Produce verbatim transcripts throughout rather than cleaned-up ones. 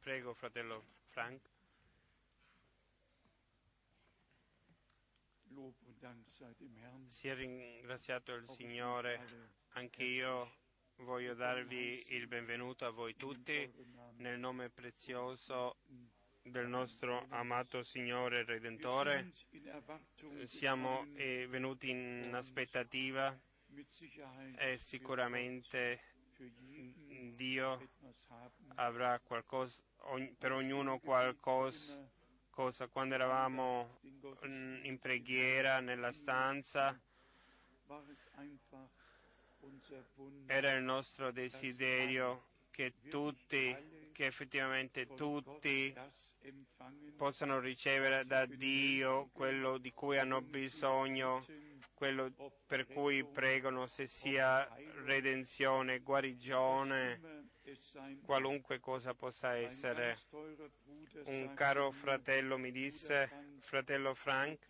Prego, fratello Frank. Sia ringraziato il Signore. Anche io voglio darvi il benvenuto a voi tutti nel nome prezioso del nostro amato Signore Redentore. Siamo eh, venuti in aspettativa e sicuramente Dio avrà qualcosa per ognuno qualcosa. Cosa, quando eravamo in preghiera nella stanza, era il nostro desiderio che tutti, che effettivamente tutti possano ricevere da Dio quello di cui hanno bisogno, quello per cui pregano, se sia redenzione, guarigione, qualunque cosa possa essere. Un caro fratello mi disse: fratello Frank,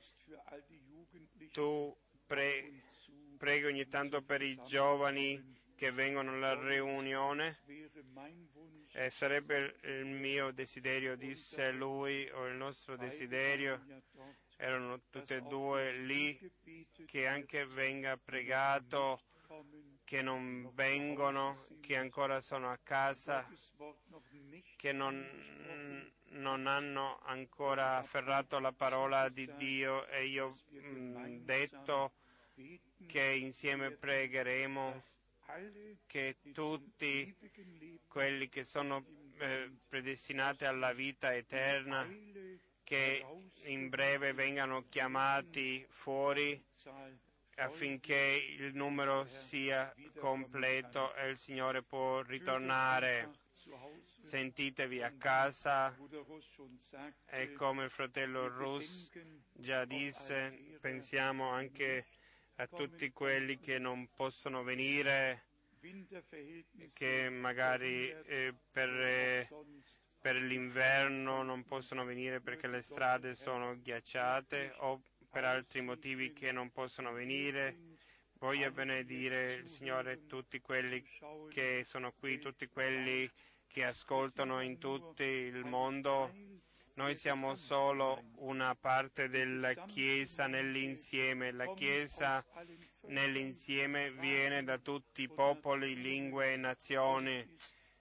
tu pre- preghi ogni tanto per i giovani che vengono alla riunione, e sarebbe il mio desiderio, disse lui, o il nostro desiderio, erano tutte e due lì, che anche venga pregato, che non vengono, che ancora sono a casa, che non, non hanno ancora afferrato la parola di Dio, e io ho detto che insieme pregheremo che tutti quelli che sono eh, predestinati alla vita eterna, che in breve vengano chiamati fuori affinché il numero sia completo e il Signore può ritornare. Sentitevi a casa, e come il fratello Russ già disse, pensiamo anche a tutti quelli che non possono venire, che magari eh, per, eh, per l'inverno non possono venire perché le strade sono ghiacciate o per altri motivi che non possono venire. Voglio benedire il Signore tutti quelli che sono qui, tutti quelli che ascoltano in tutto il mondo. Noi siamo solo una parte della Chiesa nell'insieme. La Chiesa nell'insieme viene da tutti i popoli, lingue e nazioni.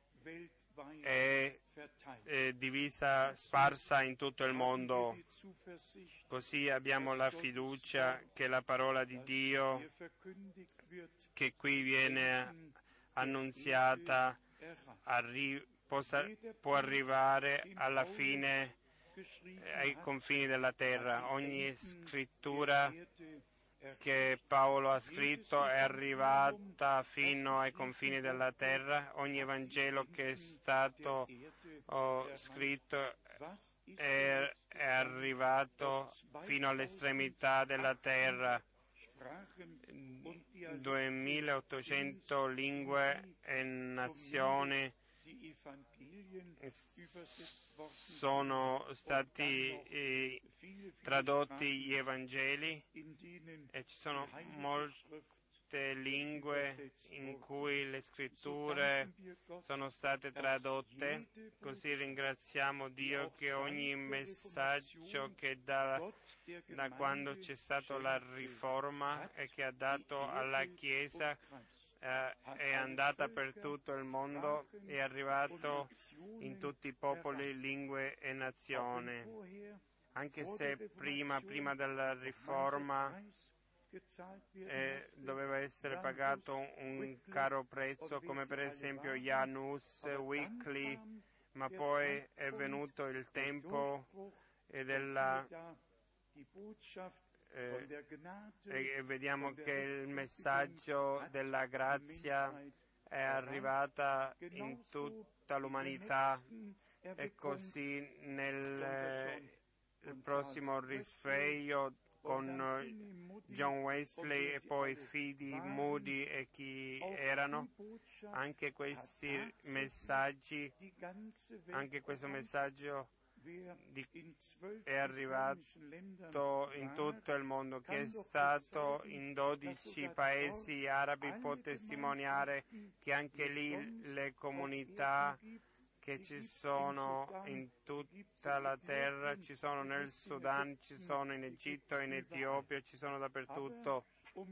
È, è divisa, sparsa in tutto il mondo. Così abbiamo la fiducia che la parola di Dio, che qui viene annunziata, arri- possa, può arrivare alla fine, ai confini della terra. Ogni scrittura che Paolo ha scritto è arrivata fino ai confini della terra. Ogni Evangelo che è stato oh, scritto è, è arrivato fino all'estremità della terra. duemilaottocento lingue e nazioni sono stati eh, tradotti gli Evangeli, e ci sono molte lingue in cui le scritture sono state tradotte. Così ringraziamo Dio che ogni messaggio che da, da quando c'è stata la riforma e che ha dato alla Chiesa eh, è andata per tutto il mondo, è arrivato in tutti i popoli, lingue e nazioni. Anche se prima, prima della riforma eh, doveva essere pagato un, un caro prezzo, come per esempio Janus, Wycliffe, ma poi è venuto il tempo e della Eh, e vediamo che il messaggio della grazia è arrivata in tutta l'umanità, e così nel eh, il prossimo risveglio con John Wesley e poi Fidi, Moody e chi erano, anche questi messaggi, anche questo messaggio Di, è arrivato in tutto il mondo, che è stato in dodici paesi arabi, può testimoniare che anche lì le comunità che ci sono in tutta la terra, ci sono nel Sudan, ci sono in Egitto, in Etiopia, ci sono dappertutto.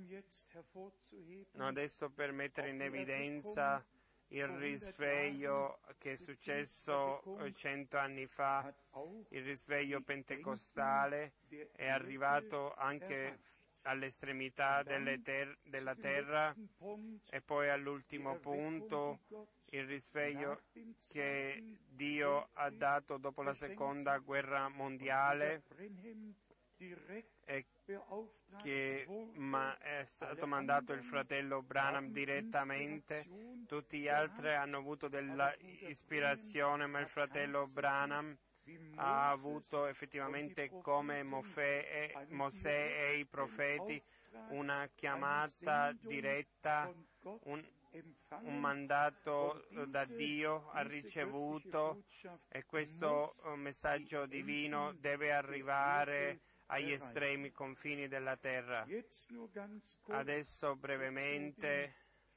No, adesso per mettere in evidenza il risveglio che è successo cento anni fa, il risveglio pentecostale è arrivato anche all'estremità delle ter- della terra, e poi all'ultimo punto il risveglio che Dio ha dato dopo la seconda guerra mondiale e che ma è stato mandato il fratello Branham direttamente. Tutti gli altri hanno avuto della ispirazione, ma il fratello Branham ha avuto effettivamente, come Mosè e, Mosè e i profeti, una chiamata diretta, un, un mandato da Dio ha ricevuto, e questo messaggio divino deve arrivare agli estremi confini della terra. Adesso brevemente,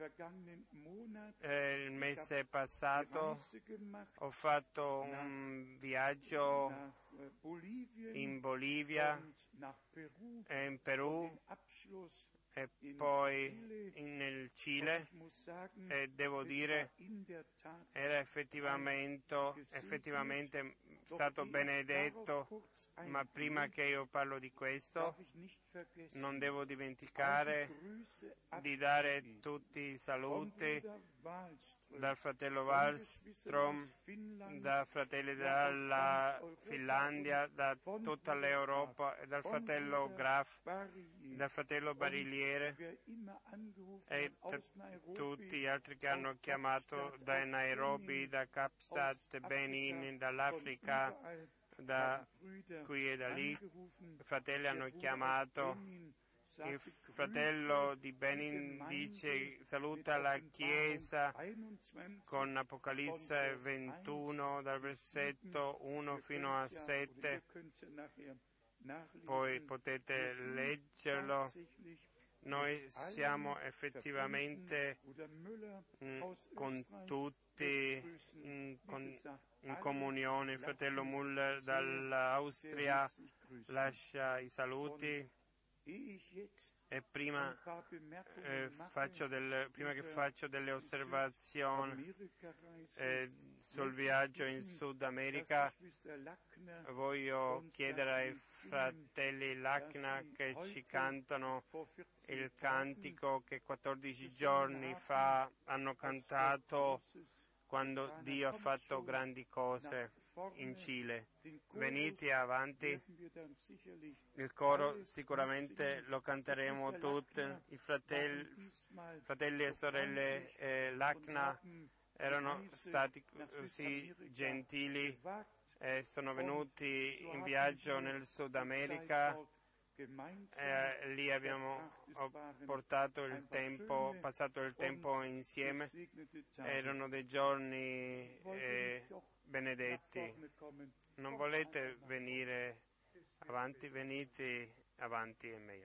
eh, il mese passato ho fatto un viaggio in Bolivia e in Perù e poi in, nel Cile, e devo dire era effettivamente, effettivamente stato benedetto. Ma prima che io parlo di questo, non devo dimenticare di dare tutti i saluti dal fratello Wallström, da fratelli dalla Finlandia, da tutta l'Europa, e dal fratello Graf, dal fratello Bariliere e t- tutti gli altri che hanno chiamato da Nairobi, da Kapstadt, Benin, dall'Africa, da qui e da lì. I fratelli hanno chiamato. Il fratello di Benin dice: saluta la Chiesa con Apocalisse ventuno dal versetto uno fino a sette, poi potete leggerlo. Noi siamo effettivamente mh, con tutti in, con, in comunione. Il fratello Muller dall'Austria lascia i saluti. E prima, eh, faccio delle, prima che faccio delle osservazioni eh, sul viaggio in Sud America, voglio chiedere ai fratelli Lacna che ci cantano il cantico che quattordici giorni fa hanno cantato quando Dio ha fatto grandi cose in Cile. Venite avanti, il coro sicuramente lo canteremo tutti. I fratelli, fratelli e sorelle eh, Lacna erano stati così gentili e sono venuti in viaggio nel Sud America. Eh, lì abbiamo portato il tempo, passato il tempo insieme. Erano dei giorni eh, benedetti. Non volete venire avanti? Venite avanti, è meglio.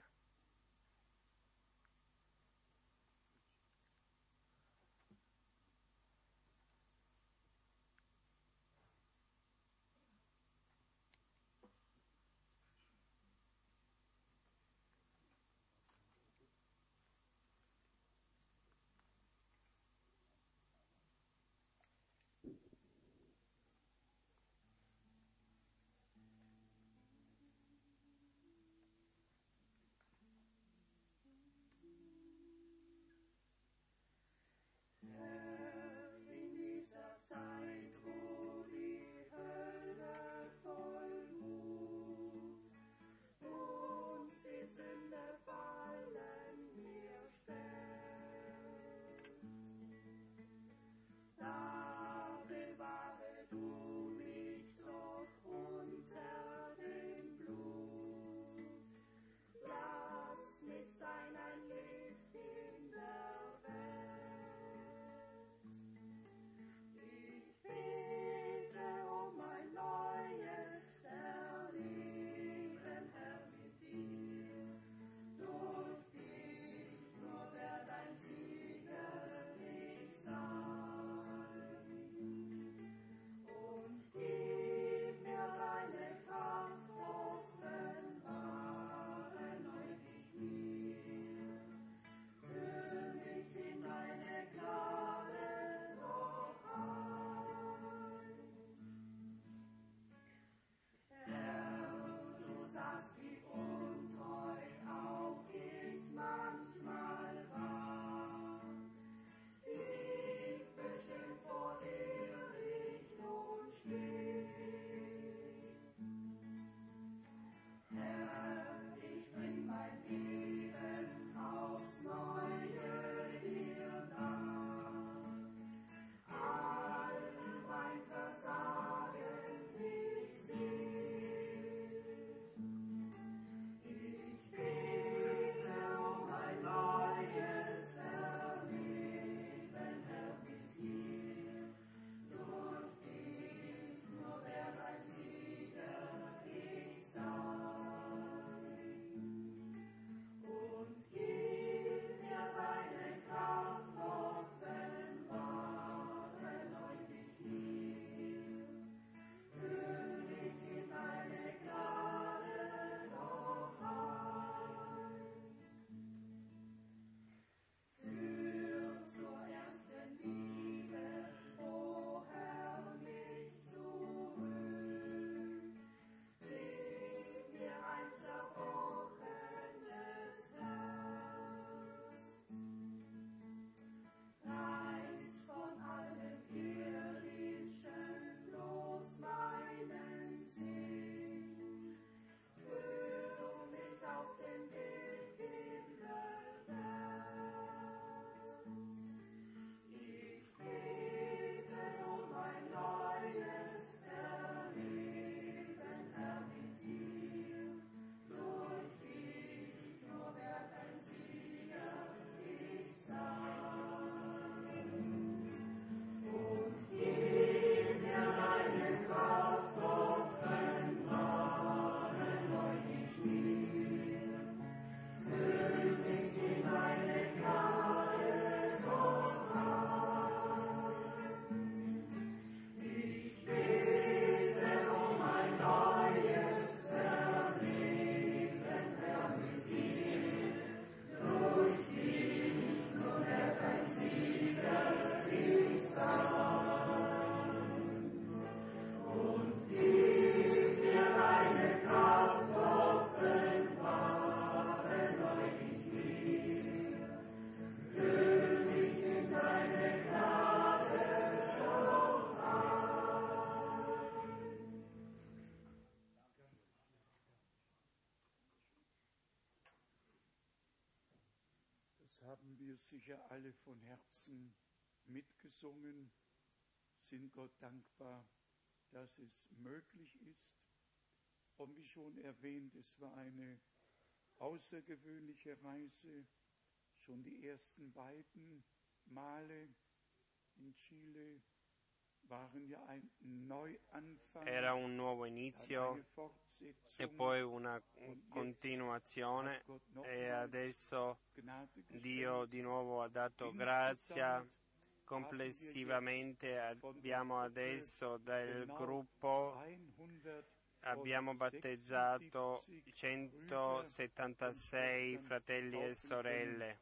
haben wir sicher alle von Herzen mitgesungen, sind Gott dankbar, dass es möglich ist. Und wie schon erwähnt, es war eine außergewöhnliche Reise. Schon die ersten beiden Male in Chile waren ja ein Neuanfang. Era un nuovo inizio e poi una continuazione, e adesso Dio di nuovo ha dato grazia. Complessivamente abbiamo adesso del gruppo, abbiamo battezzato centosettantasei fratelli e sorelle,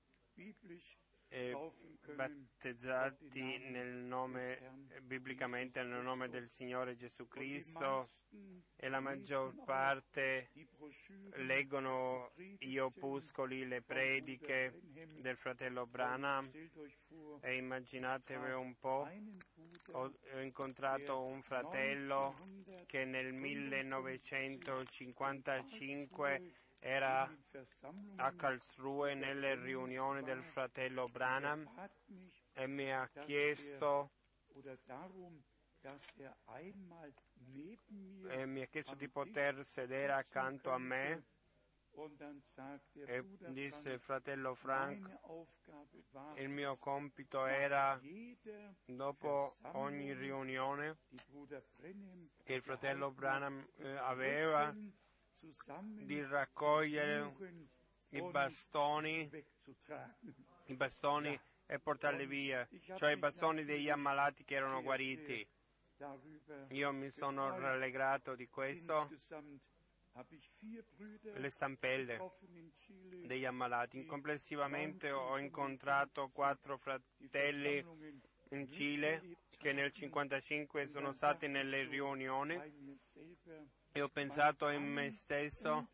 e battezzati nel nome, biblicamente nel nome del Signore Gesù Cristo, e la maggior parte leggono gli opuscoli, le prediche del fratello Branham, e immaginatevi un po', ho incontrato un fratello che nel millenovecentocinquantacinque era a Karlsruhe nelle riunioni del fratello Branham e mi ha chiesto e mi ha chiesto di poter sedere accanto a me, e disse: fratello Frank, il mio compito era, dopo ogni riunione che il fratello Branham eh, aveva, di raccogliere i bastoni, i bastoni e portarli via, cioè i bastoni degli ammalati che erano guariti. Io mi sono rallegrato di questo. Le stampelle degli ammalati. Complessivamente ho incontrato quattro fratelli in Cile che nel cinquantacinque sono stati nelle riunioni, e ho pensato in me stesso: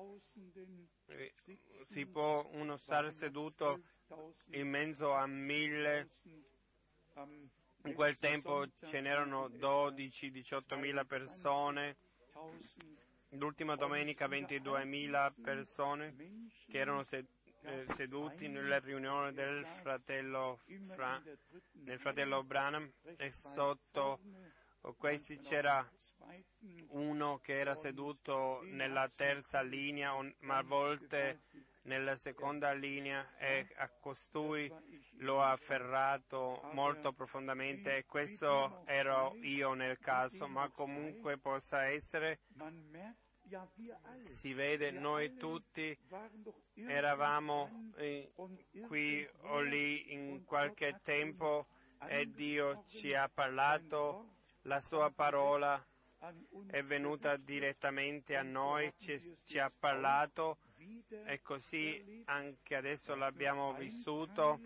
si può uno stare seduto in mezzo a mille? In quel tempo ce n'erano dodici diciottomila persone, l'ultima domenica ventiduemila persone che erano sed- eh, seduti nella riunione del fratello, Fra- del fratello Branham, e sotto questi c'era uno che era seduto nella terza linea, ma a volte nella seconda linea, e a costui l'ho afferrato molto profondamente, e questo ero io nel caso, ma comunque possa essere, si vede, noi tutti eravamo eh, qui o lì in qualche tempo, e Dio ci ha parlato, la sua parola è venuta direttamente a noi, ci, ci ha parlato, e così anche adesso l'abbiamo vissuto,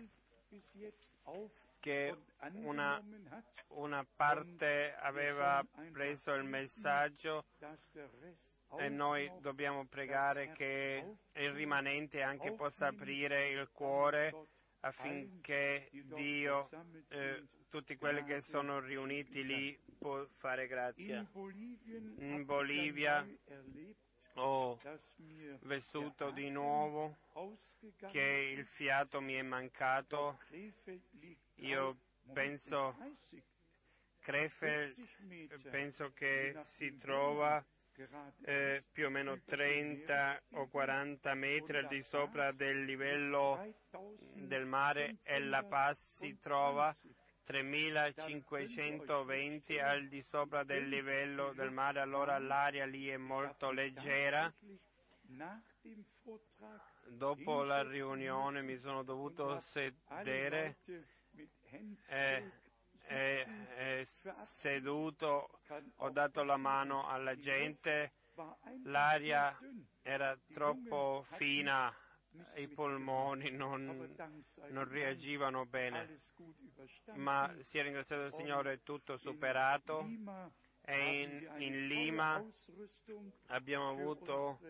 che una, una parte aveva preso il messaggio, e noi dobbiamo pregare che il rimanente anche possa aprire il cuore, affinché Dio, eh, tutti quelli che sono riuniti lì, può fare grazia. In Bolivia ho vissuto di nuovo che il fiato mi è mancato. Io penso, Krefeld, penso che si trova eh, più o meno trenta o quaranta metri al di sopra del livello del mare, e La Paz si trova tremilacinquecentoventi al di sopra del livello del mare. Allora l'aria lì è molto leggera. Dopo la riunione mi sono dovuto sedere e, e, e seduto, ho dato la mano alla gente, l'aria era troppo fina, i polmoni non, non reagivano bene, ma sia ringraziato il Signore, tutto superato, e in, in Lima abbiamo avuto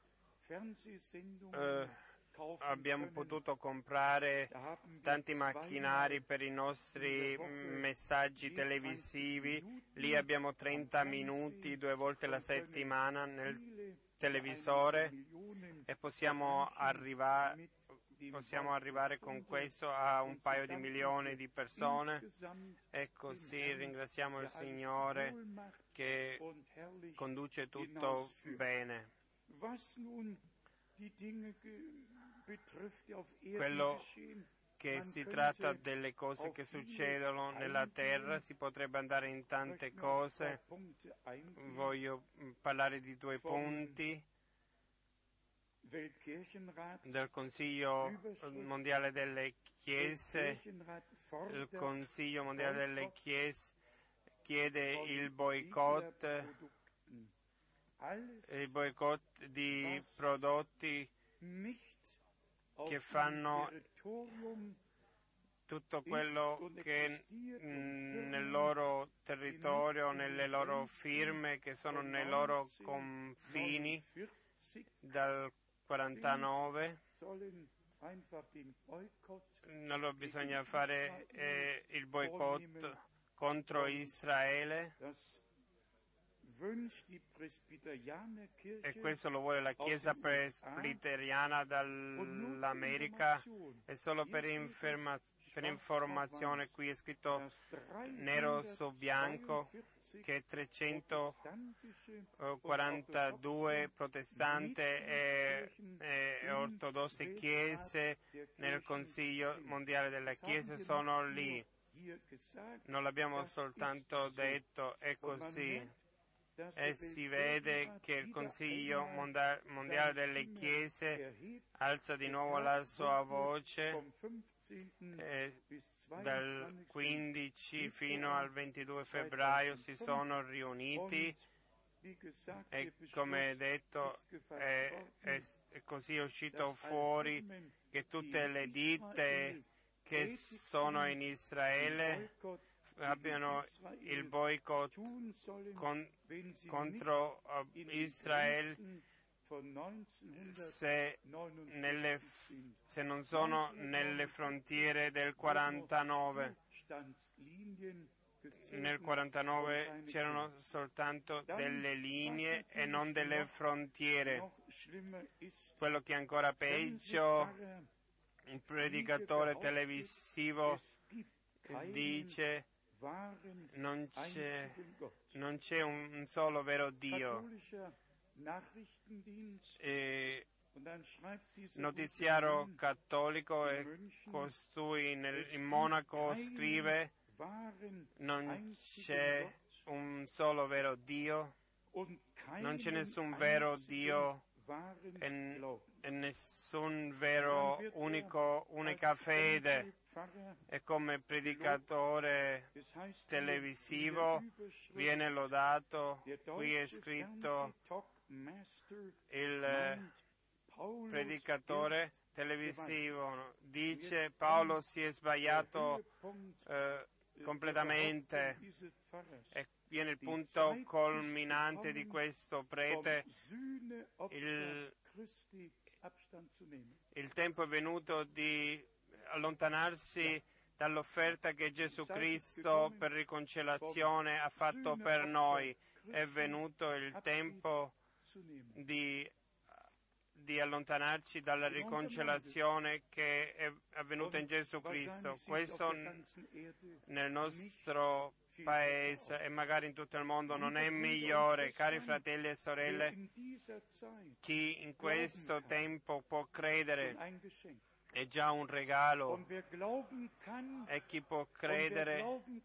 eh, abbiamo potuto comprare tanti macchinari per i nostri messaggi televisivi. Lì abbiamo trenta minuti due volte la settimana nel televisore, e possiamo arrivare, possiamo arrivare con questo a un paio di milioni di persone e così ringraziamo il Signore che conduce tutto bene. Quello che si tratta delle cose che succedono nella terra, si potrebbe andare in tante cose. Voglio parlare di due punti del Consiglio mondiale delle Chiese. Il Consiglio mondiale delle Chiese chiede il boicott, il boicott di prodotti che fanno tutto quello che nel loro territorio, nelle loro firme, che sono nei loro confini dal quarantanove. Allora bisogna fare eh, il boicott contro Israele, e questo lo vuole la Chiesa presbiteriana dall'America. E solo per, inferma, per informazione, qui è scritto nero su bianco che trecentoquarantadue protestanti e, e ortodosse chiese nel Consiglio mondiale della Chiesa sono lì. Non l'abbiamo soltanto detto, è così. E si vede che il Consiglio mondiale delle Chiese alza di nuovo la sua voce eh, dal quindici fino al ventidue febbraio si sono riuniti e, come detto, è, è, è così uscito fuori che tutte le ditte che sono in Israele abbiano il boicott con, contro uh, Israele se, nelle, se non sono nelle frontiere del quarantanove. Nel quarantanove c'erano soltanto delle linee e non delle frontiere. Quello che è ancora peggio, un predicatore televisivo dice non c'è, non c'è un solo vero Dio. E notiziario cattolico, e costui nel, in Monaco scrive non c'è un solo vero Dio, non c'è nessun vero Dio e, e nessun vero unico, unica fede. E come predicatore televisivo viene lodato, qui è scritto il predicatore televisivo dice Paolo si è sbagliato eh, completamente, e viene il punto culminante di questo prete. Il, il tempo è venuto di allontanarsi dall'offerta che Gesù Cristo per riconciliazione ha fatto per noi. È venuto il tempo di, di allontanarci dalla riconciliazione che è avvenuta in Gesù Cristo. Questo nel nostro Paese e magari in tutto il mondo non è migliore. Cari fratelli e sorelle, chi in questo tempo può credere è già un regalo, e chi può credere,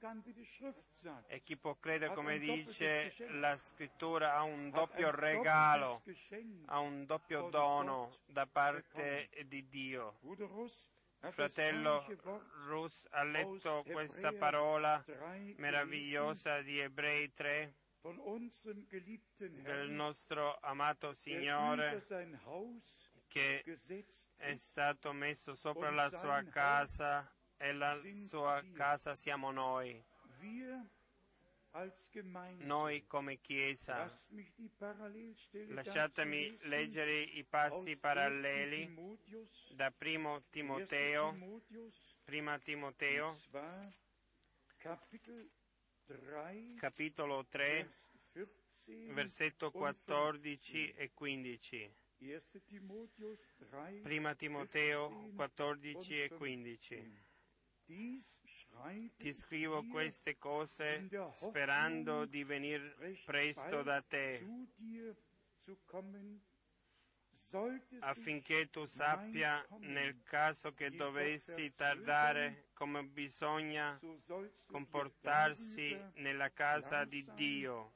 e chi può credere, come dice la Scrittura, ha un doppio regalo, ha un doppio dono da parte di Dio. Fratello Rus ha letto questa parola meravigliosa di Ebrei tre, del nostro amato Signore che è stato messo sopra la sua casa, e la sua casa siamo noi. Noi come Chiesa. Lasciatemi leggere i passi paralleli da primo Timoteo, prima Timoteo, capitolo tre, versetto quattordici e quindici. Prima Timoteo quattordici e quindici. Ti scrivo queste cose sperando di venire presto da te, affinché tu sappia, nel caso che dovessi tardare, come bisogna comportarsi nella casa di Dio,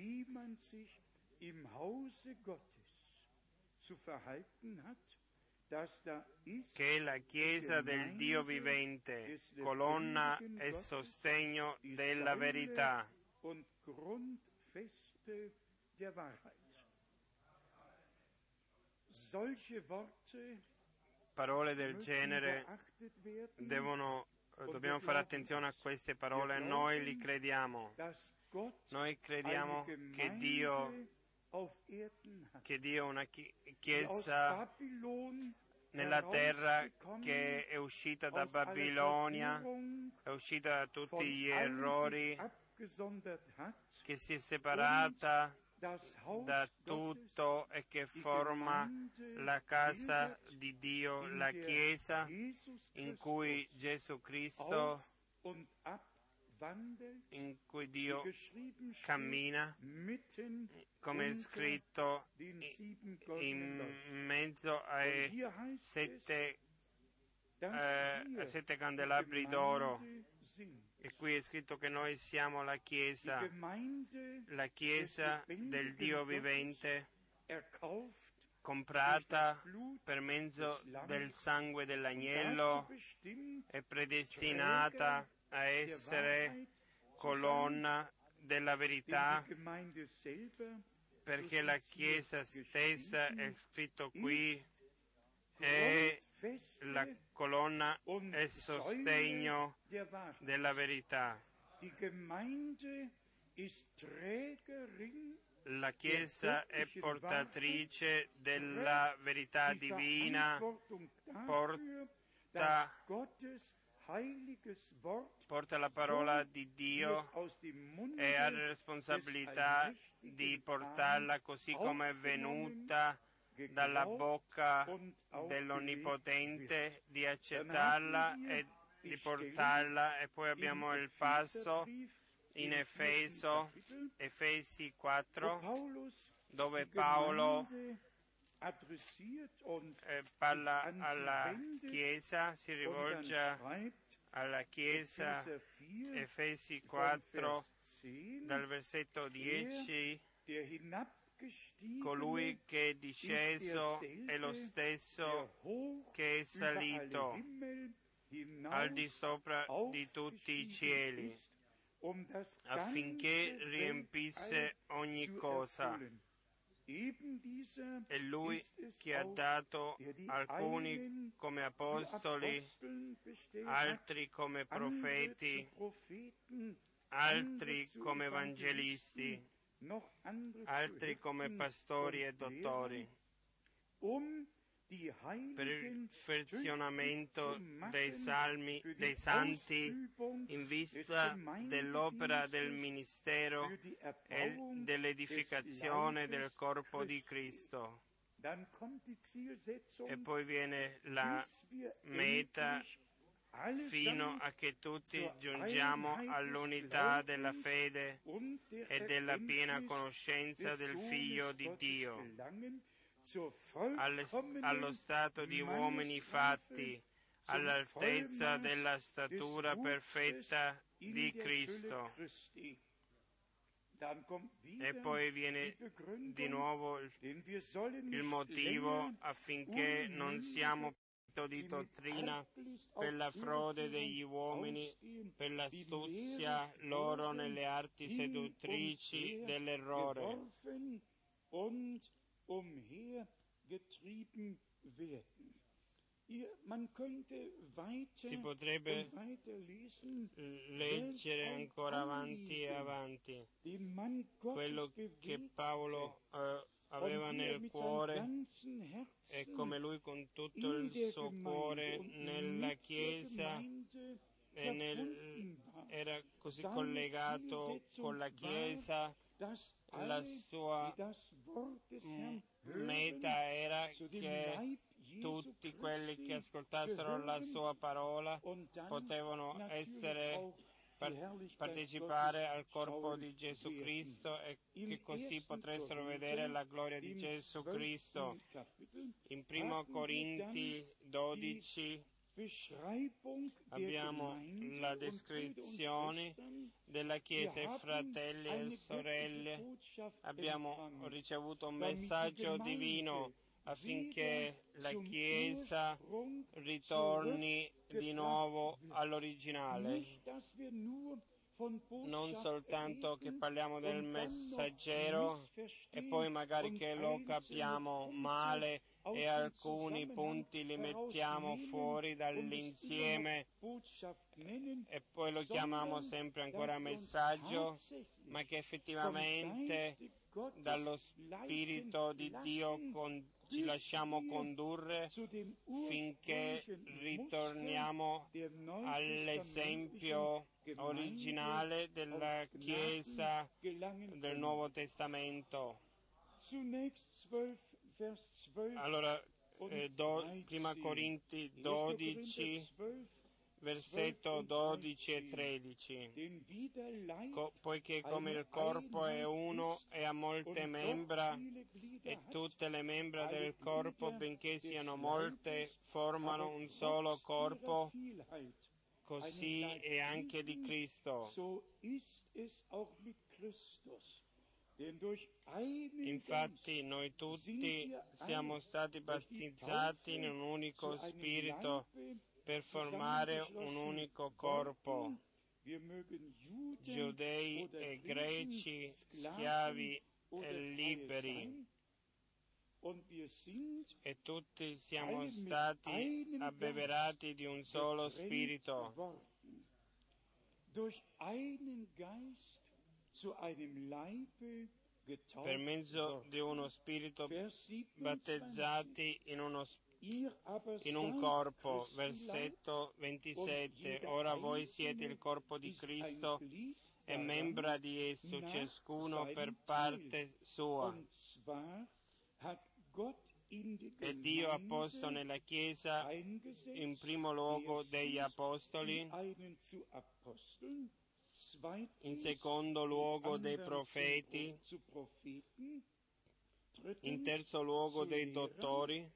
che è la Chiesa del Dio vivente, colonna e sostegno della verità. Parole del genere devono, dobbiamo fare attenzione a queste parole, noi li crediamo. Noi crediamo che Dio, che Dio ha una Chiesa nella terra che è uscita da Babilonia, è uscita da tutti gli errori, che si è separata da tutto e che forma la casa di Dio, la Chiesa in cui Gesù Cristo, in cui Dio cammina, come è scritto, in mezzo ai sette, eh, sette candelabri d'oro. E qui è scritto che noi siamo la Chiesa, la Chiesa del Dio vivente, comprata per mezzo del sangue dell'agnello e predestinata a essere colonna della verità, perché la Chiesa stessa, è scritto qui, è la colonna e sostegno della verità. La Chiesa è portatrice della verità divina, porta, porta la parola di Dio e ha la responsabilità di portarla così come è venuta dalla bocca dell'Onnipotente, di accettarla e di portarla. E poi abbiamo il passo in Efeso, Efesi quattro, dove Paolo eh, parla alla Chiesa, si rivolge alla Chiesa, Efesi quattro, dal versetto dieci, colui che è disceso è lo stesso che è salito al di sopra di tutti i cieli, affinché riempisse ogni cosa. È Lui che ha dato alcuni come apostoli, altri come profeti, altri come evangelisti, altri come pastori e dottori, per il perfezionamento dei salmi, dei santi, in vista dell'opera del ministero e dell'edificazione del corpo di Cristo. E poi viene la meta, fino a che tutti giungiamo all'unità della fede e della piena conoscenza del Figlio di Dio, allo stato di uomini fatti, all'altezza della statura perfetta di Cristo. E poi viene di nuovo il motivo affinché non siamo di dottrina per la frode degli uomini, per l'astuzia loro nelle arti seduttrici dell'errore. Si potrebbe leggere ancora avanti e avanti quello che Paolo eh, aveva nel cuore e come lui con tutto il suo cuore nella Chiesa e nel, era così collegato con la Chiesa, la sua m- meta era che tutti quelli che ascoltassero la sua parola potevano essere partecipare al corpo di Gesù Cristo e che così potessero vedere la gloria di Gesù Cristo. In primo Corinti dodici abbiamo la descrizione della Chiesa e fratelli e sorelle. Abbiamo ricevuto un messaggio divino affinché la Chiesa ritorni di nuovo all'originale. Non soltanto che parliamo del messaggero e poi magari che lo capiamo male e alcuni punti li mettiamo fuori dall'insieme e poi lo chiamiamo sempre ancora messaggio, ma che effettivamente dallo Spirito di Dio con, ci lasciamo condurre finché ritorniamo all'esempio originale della Chiesa del Nuovo Testamento. Allora, eh, do, prima Corinti dodici, versetto dodici e tredici. Co- poiché come il corpo è uno e ha molte membra, e tutte le membra del corpo, benché siano molte, formano un solo corpo, così è anche di Cristo. Infatti noi tutti siamo stati battezzati in un unico spirito per formare un unico corpo, giudei e greci, schiavi e liberi, e tutti siamo stati abbeverati di un solo spirito. Per mezzo di uno spirito battezzati in, uno, in un corpo. Versetto ventisette. Ora voi siete il corpo di Cristo e membra di esso, ciascuno per parte sua. E Dio ha posto nella Chiesa in primo luogo degli apostoli, in secondo luogo dei profeti, in terzo luogo dei dottori,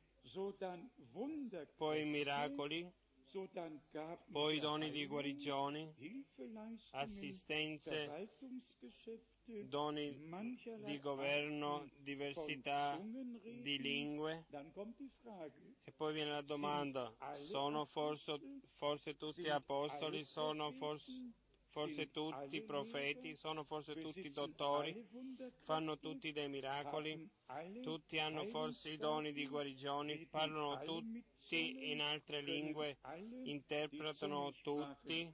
poi miracoli, poi doni di guarigione, assistenze, doni di governo, diversità di lingue. E poi viene la domanda: sono forse, forse tutti apostoli, sono forse, forse tutti profeti, sono forse tutti dottori, fanno tutti dei miracoli, tutti hanno forse i doni di guarigione, parlano tutti in altre lingue, interpretano tutti.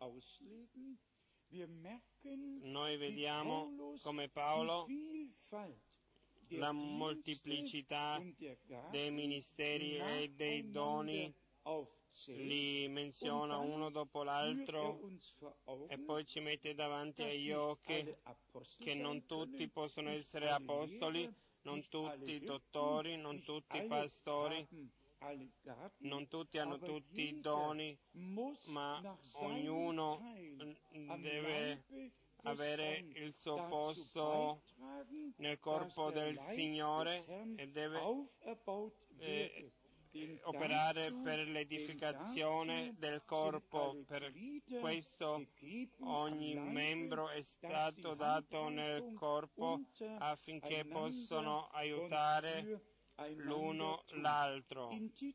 Noi vediamo come Paolo la molteplicità dei ministeri e dei doni li menziona uno dopo l'altro e poi ci mette davanti agli occhi che non tutti possono essere apostoli, non tutti dottori, non tutti pastori, non tutti hanno tutti i doni, ma ognuno deve avere il suo posto nel corpo del Signore e deve eh, operare per l'edificazione del corpo. Per questo ogni membro è stato dato nel corpo affinché possano aiutare l'uno l'altro.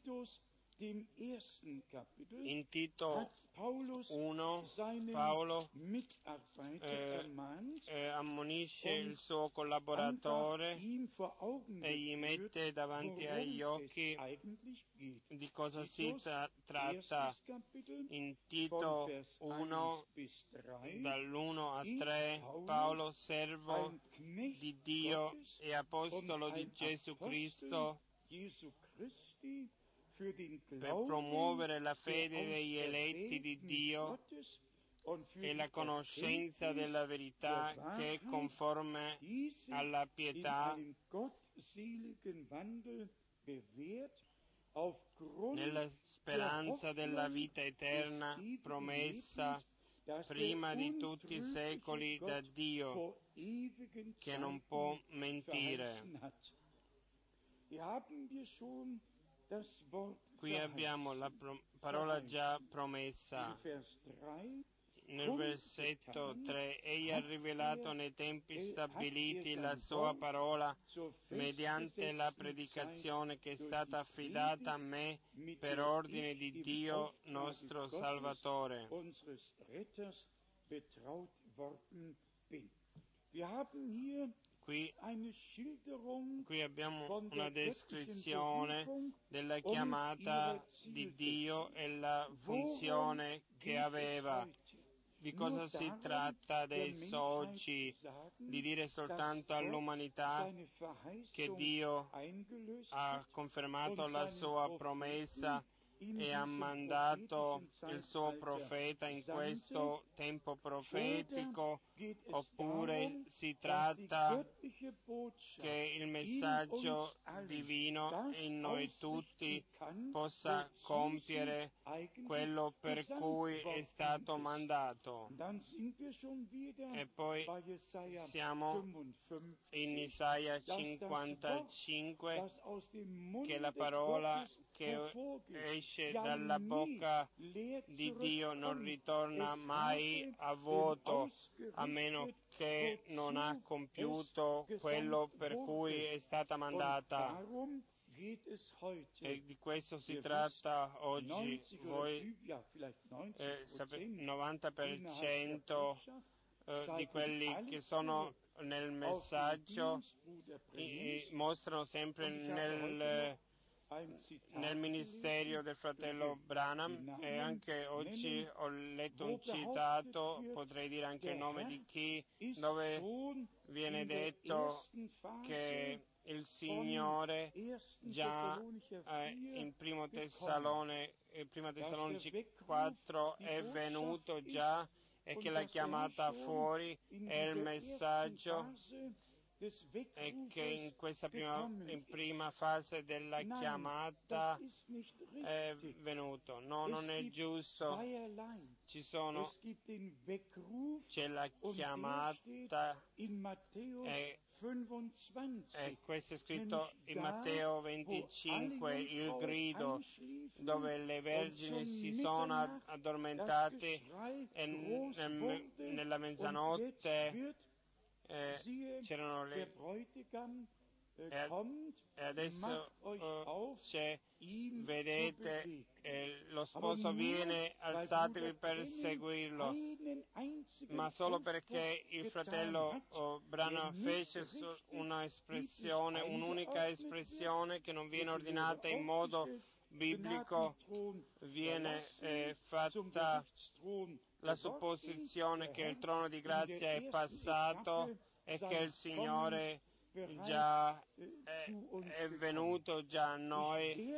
In Tito uno Paolo eh, eh, ammonisce il suo collaboratore e gli mette davanti agli occhi di cosa si tra- tratta. In Tito uno, dall'uno a tre, Paolo, servo di Dio e apostolo di Gesù Cristo, per promuovere la fede degli eletti di Dio e la conoscenza della verità che è conforme alla pietà, nella speranza della vita eterna promessa prima di tutti i secoli da Dio, che non può mentire. Qui abbiamo la pro- parola già promessa. Nel versetto tre, Egli ha rivelato nei tempi stabiliti la sua parola mediante la predicazione che è stata affidata a me per ordine di Dio nostro Salvatore. Qui, qui abbiamo una descrizione della chiamata di Dio e la funzione che aveva. Di cosa si tratta adesso oggi? Di dire soltanto all'umanità che Dio ha confermato la sua promessa e ha mandato il suo profeta in questo tempo profetico, oppure si tratta che il messaggio divino in noi tutti possa compiere quello per cui è stato mandato. E poi siamo in Isaia cinquantacinque, che la parola che esce dalla bocca di Dio non ritorna mai a vuoto, a meno che non ha compiuto quello per cui è stata mandata. E di questo si tratta oggi. Voi eh, sapete, novanta per cento eh, di quelli che sono nel messaggio eh, mostrano sempre nel nel ministero del fratello Branham, e anche oggi ho letto un citato, potrei dire anche il nome di chi, dove viene detto che il Signore già eh, in primo Tessalone, eh, prima Tessalonica quattro è venuto già, e che l'ha chiamata fuori, è il messaggio, e che in questa prima, in prima fase della chiamata è venuto. No, non è giusto. Ci sono, c'è la chiamata, e, e questo è scritto in Matteo venticinque, il grido, dove le vergini si sono addormentate e nel, nella mezzanotte Eh, c'erano le e, e adesso uh, c'è, vedete, eh, lo sposo viene, alzatevi per seguirlo, ma solo perché il fratello oh, Branham fece una espressione, un'unica espressione che non viene ordinata in modo biblico, viene eh, fatta la supposizione che il trono di grazia è passato e che il Signore già è, è venuto già a noi.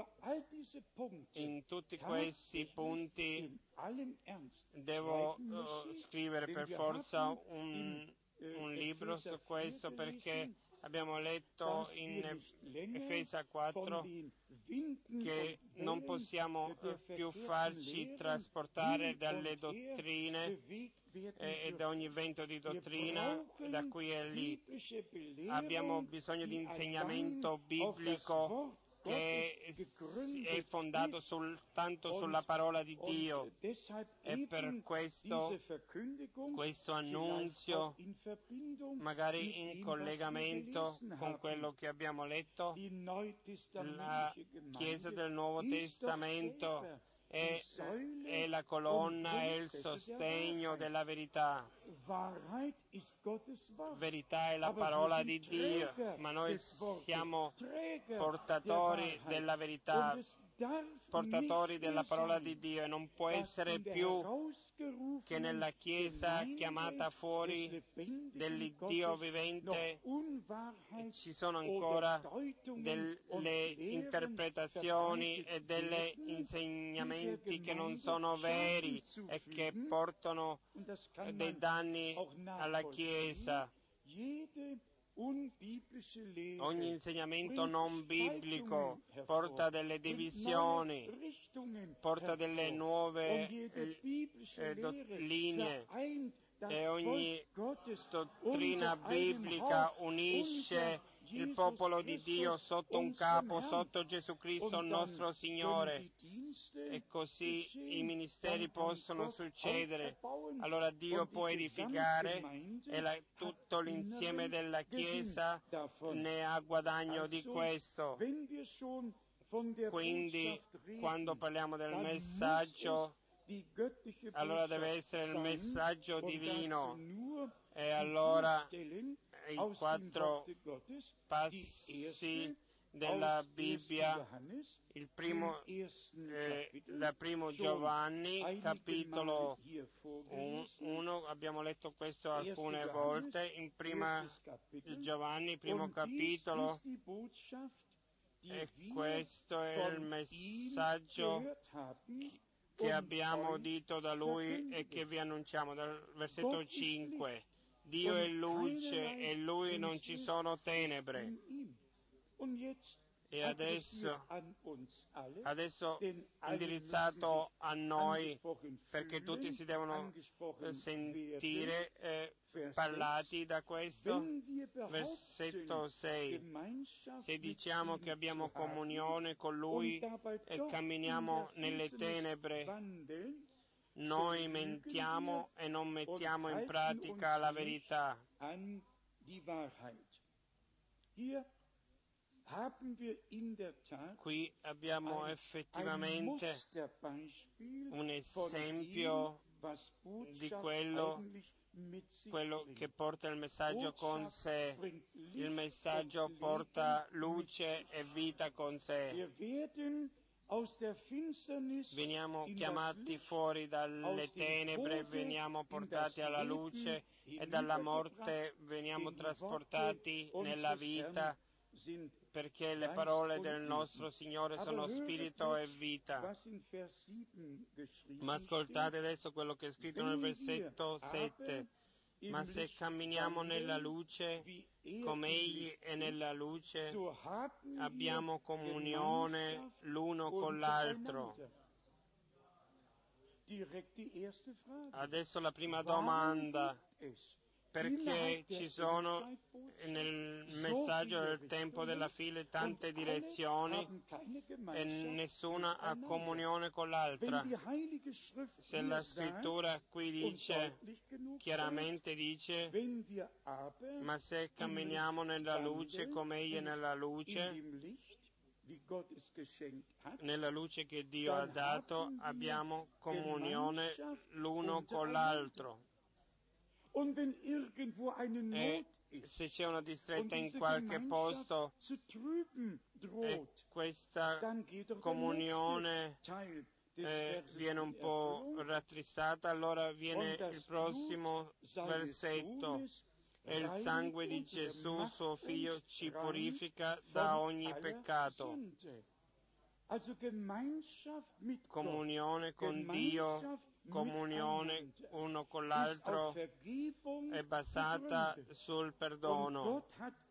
In tutti questi punti devo uh, scrivere per forza un, un libro su questo, perché abbiamo letto in Efesa quattro che non possiamo più farci trasportare dalle dottrine e da ogni vento di dottrina da qui e lì. Abbiamo bisogno di insegnamento biblico che è fondato soltanto sulla parola di Dio, e per questo questo annunzio, magari in collegamento con quello che abbiamo letto, la Chiesa del Nuovo Testamento è, è la colonna e il sostegno della verità. Verità è la parola di Dio, ma noi siamo portatori della verità, portatori della parola di Dio, e non può essere più che nella Chiesa chiamata fuori dell'Iddio vivente ci sono ancora delle interpretazioni e degli insegnamenti che non sono veri e che portano dei danni alla Chiesa. Ogni insegnamento non biblico porta delle divisioni, porta delle nuove eh, linee, e ogni dottrina biblica unisce il popolo di Dio sotto un capo, sotto Gesù Cristo, il nostro Signore, e così i ministeri possono succedere. Allora Dio può edificare e la, tutto l'insieme della Chiesa ne ha guadagno di questo. Quindi, quando parliamo del messaggio, allora deve essere il messaggio divino, e allora i quattro passi della Bibbia, il primo, eh, da primo Giovanni, capitolo uno, abbiamo letto questo alcune volte, in prima Giovanni, primo capitolo, e questo è il messaggio che abbiamo udito da Lui e che vi annunciamo, dal versetto cinque. Dio è luce e in Lui non ci sono tenebre. E adesso, adesso indirizzato a noi, perché tutti si devono sentire eh, parlati da questo, versetto sei. Se diciamo che abbiamo comunione con Lui e camminiamo nelle tenebre, noi mentiamo e non mettiamo in pratica la verità. Qui abbiamo effettivamente un esempio di quello, quello che porta il messaggio con sé. Il messaggio porta luce e vita con sé. Veniamo chiamati fuori dalle tenebre, veniamo portati alla luce, e dalla morte veniamo trasportati nella vita, perché le parole del nostro Signore sono spirito e vita. Ma ascoltate adesso quello che è scritto nel versetto sette. Ma se camminiamo nella luce, come Egli è nella luce, abbiamo comunione l'uno con l'altro. Adesso la prima domanda: perché ci sono nel messaggio del tempo della fine tante direzioni e nessuna ha comunione con l'altra? Se la scrittura qui dice, chiaramente dice, ma se camminiamo nella luce come Egli è nella luce, nella luce che Dio ha dato, abbiamo comunione l'uno con l'altro. E se c'è una distretta in qualche posto e questa comunione eh, viene un po' rattristata, allora viene il prossimo versetto: e il sangue di Gesù, suo Figlio, ci purifica da ogni peccato. Comunione con Dio, comunione uno con l'altro, è basata sul perdono,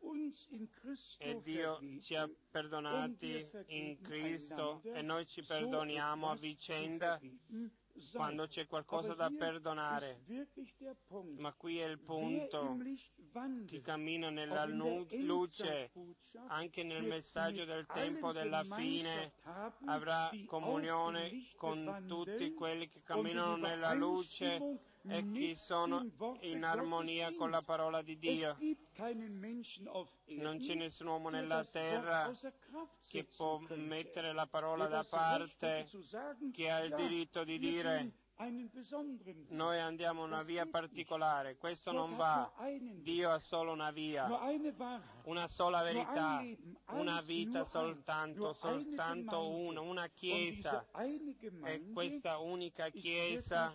e Dio ci ha perdonati in Cristo e noi ci perdoniamo a vicenda quando c'è qualcosa da perdonare. Ma qui è il punto: chi cammina nella luce, anche nel messaggio del tempo della fine, avrà comunione con tutti quelli che camminano nella luce e che sono in armonia con la parola di Dio. Non c'è nessun uomo nella terra che può mettere la parola da parte, che ha il diritto di dire: noi andiamo una via particolare, questo non va. Dio ha solo una via, una sola verità, una vita soltanto, soltanto una, una Chiesa. E questa unica Chiesa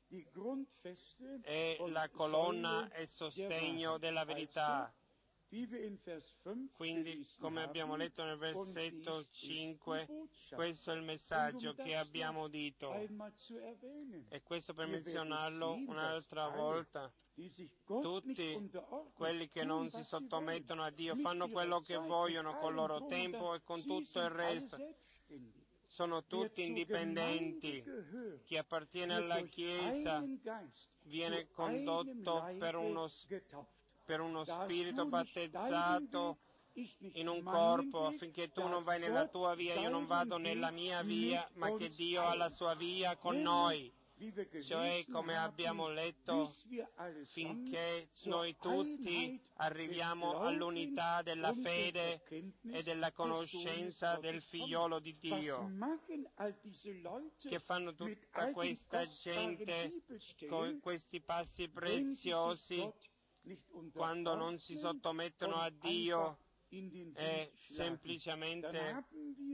è la colonna e sostegno della verità. Quindi, come abbiamo letto nel versetto cinque, questo è il messaggio che abbiamo udito. E questo per menzionarlo un'altra volta. Tutti quelli che non si sottomettono a Dio fanno quello che vogliono col loro tempo e con tutto il resto. Sono tutti indipendenti. Chi appartiene alla Chiesa viene condotto per uno per uno spirito battezzato in un corpo, affinché tu non vai nella tua via, io non vado nella mia via, ma che Dio ha la sua via con noi. Cioè, come abbiamo letto, finché noi tutti arriviamo all'unità della fede e della conoscenza del Figliolo di Dio. Che fanno tutta questa gente con questi passi preziosi quando non si sottomettono a Dio e semplicemente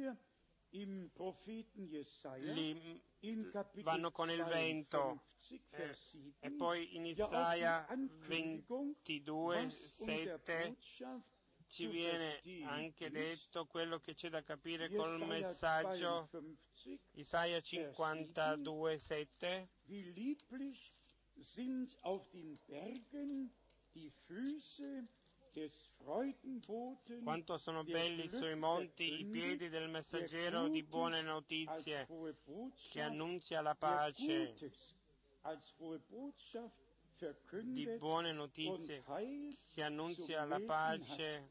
li vanno con il vento. Eh, e poi in Isaia ventidue, sette ci viene anche detto quello che c'è da capire col messaggio. Isaia cinquantadue, sette. Quanto sono belli sui monti i piedi del messaggero di buone notizie, che annunzia la pace, di buone notizie, che annunzia la pace,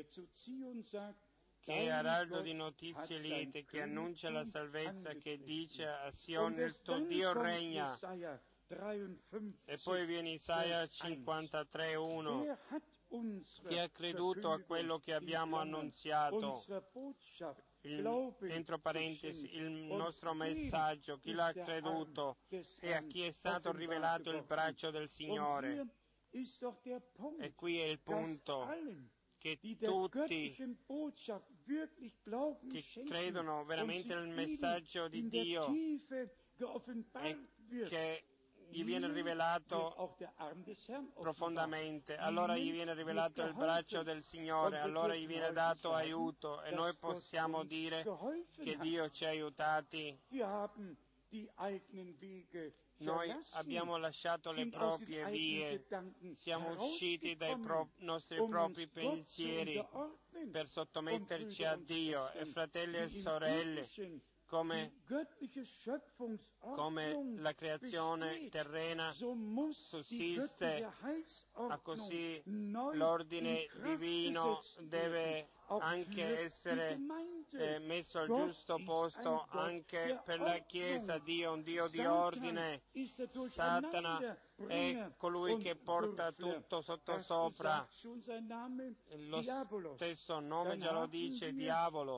che è araldo di notizie liete, che annuncia la salvezza, che dice a Sion il tuo Dio regna. E poi viene Isaia cinquantatré, uno. Chi ha creduto a quello che abbiamo annunziato, il, entro parentesi, il nostro messaggio, chi l'ha creduto e a chi è stato rivelato il braccio del Signore. E qui è il punto, che tutti che credono veramente nel messaggio di Dio e che gli viene rivelato profondamente, allora gli viene rivelato il braccio del Signore, allora gli viene dato aiuto e noi possiamo dire che Dio ci ha aiutati. Noi abbiamo lasciato le proprie vie, siamo usciti dai pro- nostri propri pensieri per sottometterci a Dio. E fratelli e sorelle, come, come la creazione terrena sussiste, a così l'ordine divino deve anche essere eh, messo al giusto posto anche per la Chiesa. Dio è un Dio di ordine. Satana è colui che porta tutto sottosopra. Lo stesso nome già lo dice, diavolo.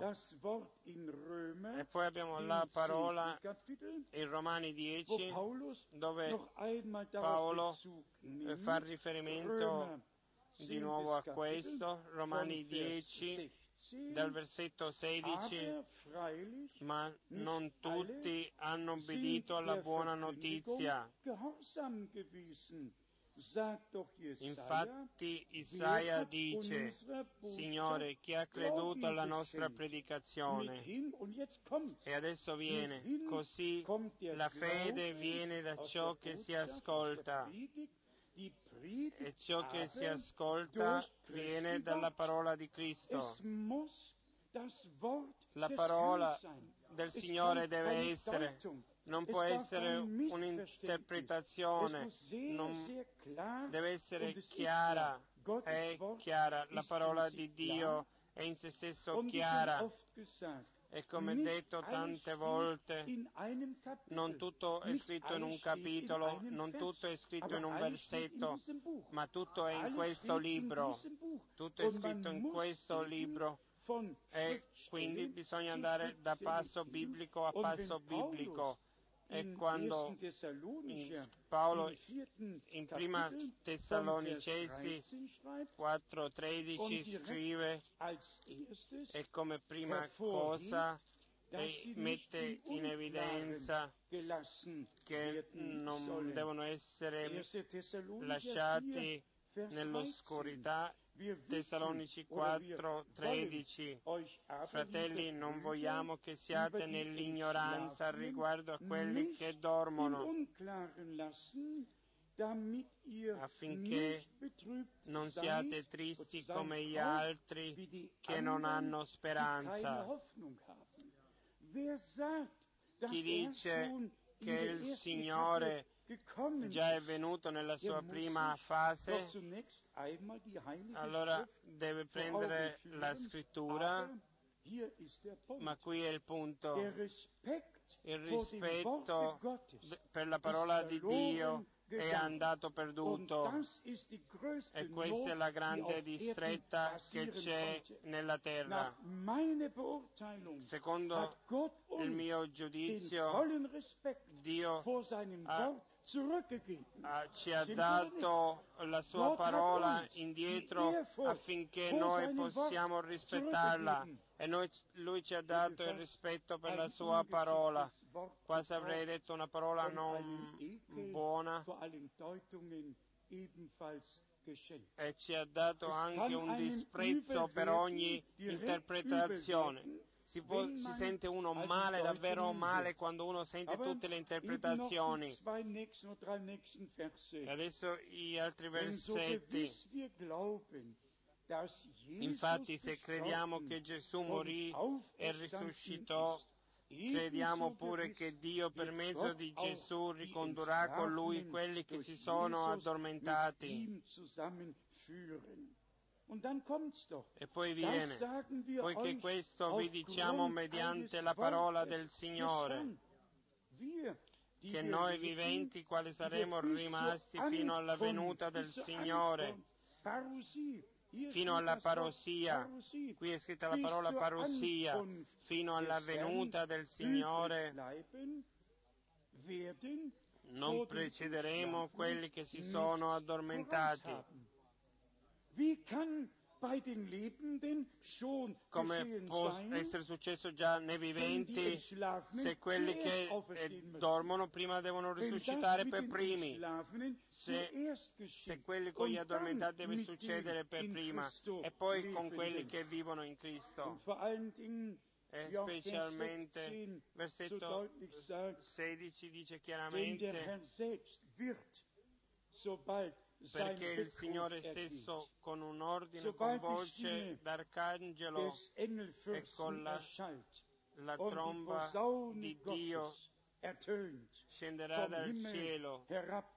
E poi abbiamo la parola in Romani dieci, dove Paolo fa riferimento di nuovo a questo. Romani dieci, dal versetto sedici, ma non tutti hanno obbedito alla buona notizia. Infatti Isaia dice: Signore, chi ha creduto alla nostra predicazione? E adesso viene, così la fede viene da ciò che si ascolta, e ciò che si ascolta viene dalla parola di Cristo. La parola del Signore deve essere, non può essere un'interpretazione, non deve essere chiara, è chiara, la parola di Dio è in se stesso chiara. E come detto tante volte, non tutto è scritto in un capitolo, non tutto è scritto in un versetto, ma tutto è in questo libro. Tutto è scritto in questo libro. E quindi bisogna andare da passo biblico a passo biblico. è quando Paolo in prima Tessalonicesi quattro tredici scrive, e come prima cosa e mette in evidenza che non devono essere lasciati nell'oscurità. Tessalonici quattro tredici. Fratelli, non vogliamo che siate nell'ignoranza riguardo a quelli che dormono, affinché non siate tristi come gli altri che non hanno speranza. Chi dice che il Signore già è venuto nella sua prima fase, allora deve prendere la scrittura, ma qui è il punto. Il rispetto per la parola di Dio è andato perduto, e questa è la grande distretta che c'è nella terra. Secondo il mio giudizio, Dio ha, ha, ci ha dato la sua parola indietro affinché noi possiamo rispettarla, e noi, Lui ci ha dato il rispetto per la sua parola. Quasi avrei detto una parola non buona, e ci ha dato anche un disprezzo per ogni interpretazione. Si, può, si sente uno male, davvero male, quando uno sente tutte le interpretazioni. E adesso gli altri versetti. Infatti, se crediamo che Gesù morì e risuscitò, crediamo pure che Dio per mezzo di Gesù ricondurrà con Lui quelli che si sono addormentati. E poi viene, poiché questo vi diciamo mediante la parola del Signore, che noi viventi, quali saremo rimasti fino alla venuta del Signore, fino alla parousia, qui è scritta la parola parousia, fino alla venuta del Signore, non precederemo quelli che si sono addormentati. Come può essere successo già nei viventi, se quelli che eh, dormono prima devono risuscitare per primi, se, se quelli con gli addormentati deve succedere per prima, e poi con quelli che vivono in Cristo. E specialmente versetto sedici dice chiaramente, perché il Signore stesso con un ordine, con voce d'arcangelo e con la, la tromba di Dio scenderà dal cielo.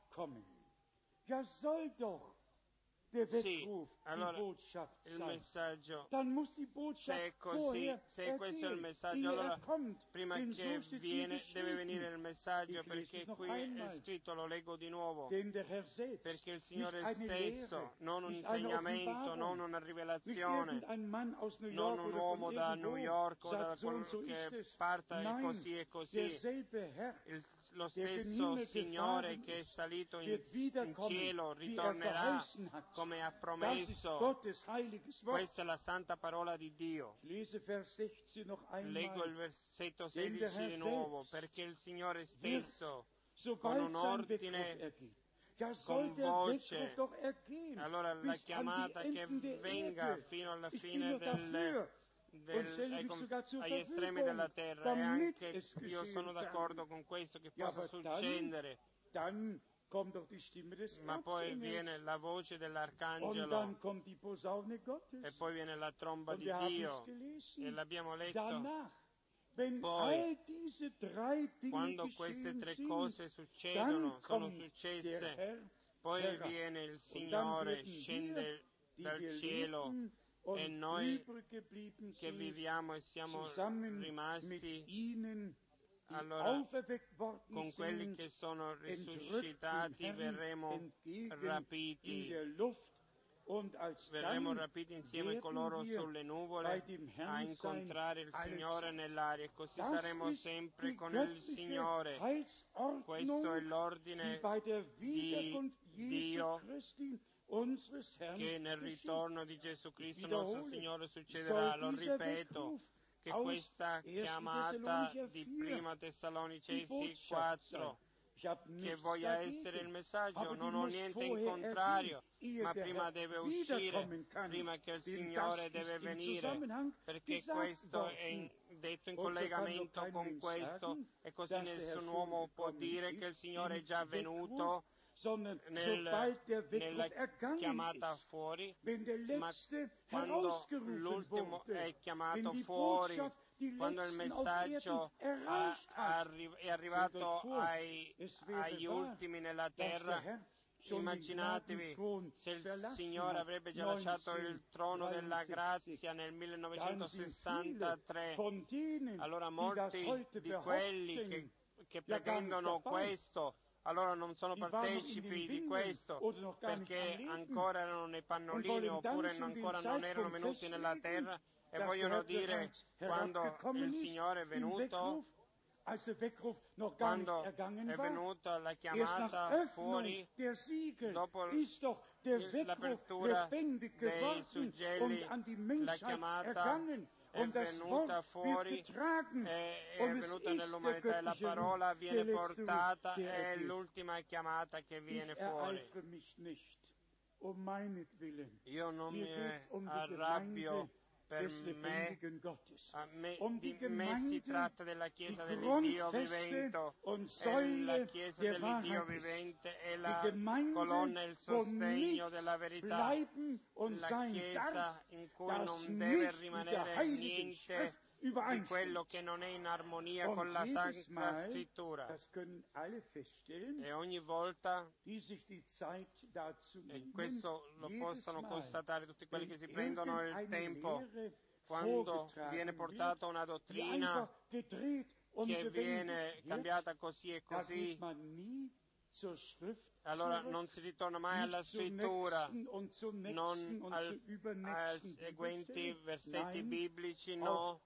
Sì, allora il messaggio, se è così, se questo è il messaggio, allora prima che viene deve venire il messaggio, perché qui è scritto, lo leggo di nuovo, perché il Signore stesso, non un insegnamento, non una rivelazione, non un uomo da New York o da quello che parta e così e così, il, lo stesso Signore che è salito in, in cielo ritornerà come ha promesso. Questa è la santa parola di Dio. Leggo il versetto sedici di nuovo, perché il Signore stesso con un ordine, con voce, allora la chiamata che venga fino alla fine del, del, agli estremi della terra, e anche io sono d'accordo con questo che possa succedere. Ma poi viene la voce dell'arcangelo, e poi viene la tromba di Dio, e l'abbiamo letto. Poi, quando queste tre cose succedono, sono successe, poi viene il Signore, scende dal cielo, e noi che viviamo e siamo rimasti, allora con quelli che sono risuscitati verremo rapiti verremo rapiti insieme con loro sulle nuvole a incontrare il Signore nell'aria, e così saremo sempre con il Signore. Questo è l'ordine di Dio che nel ritorno di Gesù Cristo nostro Signore succederà. Lo ripeto, che questa chiamata di Prima Tessalonicesi quattro, che voglia essere il messaggio, non ho niente in contrario, ma prima deve uscire, prima che il Signore deve venire, perché questo è in, detto in collegamento con questo, e così nessun uomo può dire che il Signore è già venuto nel, nella chiamata fuori, ma quando l'ultimo è chiamato fuori, quando il messaggio ha, arri- è arrivato ai, agli ultimi nella terra, immaginatevi se il Signore avrebbe già lasciato il trono della grazia nel millenovecentosessantatré, allora molti di quelli che, che pretendono questo allora non sono partecipi di questo, perché ancora erano nei pannolini oppure ancora non erano venuti nella terra, e vogliono dire, quando il Signore è venuto, quando è venuta la chiamata fuori, dopo l'apertura dei suggelli, la chiamata è venuta fuori, è, è venuta nell'umanità, e la parola viene portata, è l'ultima chiamata che viene fuori. Io non mi arrabbio per me, a me, di me si tratta della Chiesa dell'Iddio vivente, è la Chiesa dell'Iddio vivente, è la colonna e il sostegno della verità, la Chiesa in cui non deve rimanere niente di quello che non è in armonia con la Sacra Scrittura. E ogni volta, e questo lo possono constatare tutti quelli che si prendono il tempo, quando viene portata una dottrina che viene cambiata così e così, allora non si ritorna mai alla scrittura, non al, ai seguenti versetti biblici, no,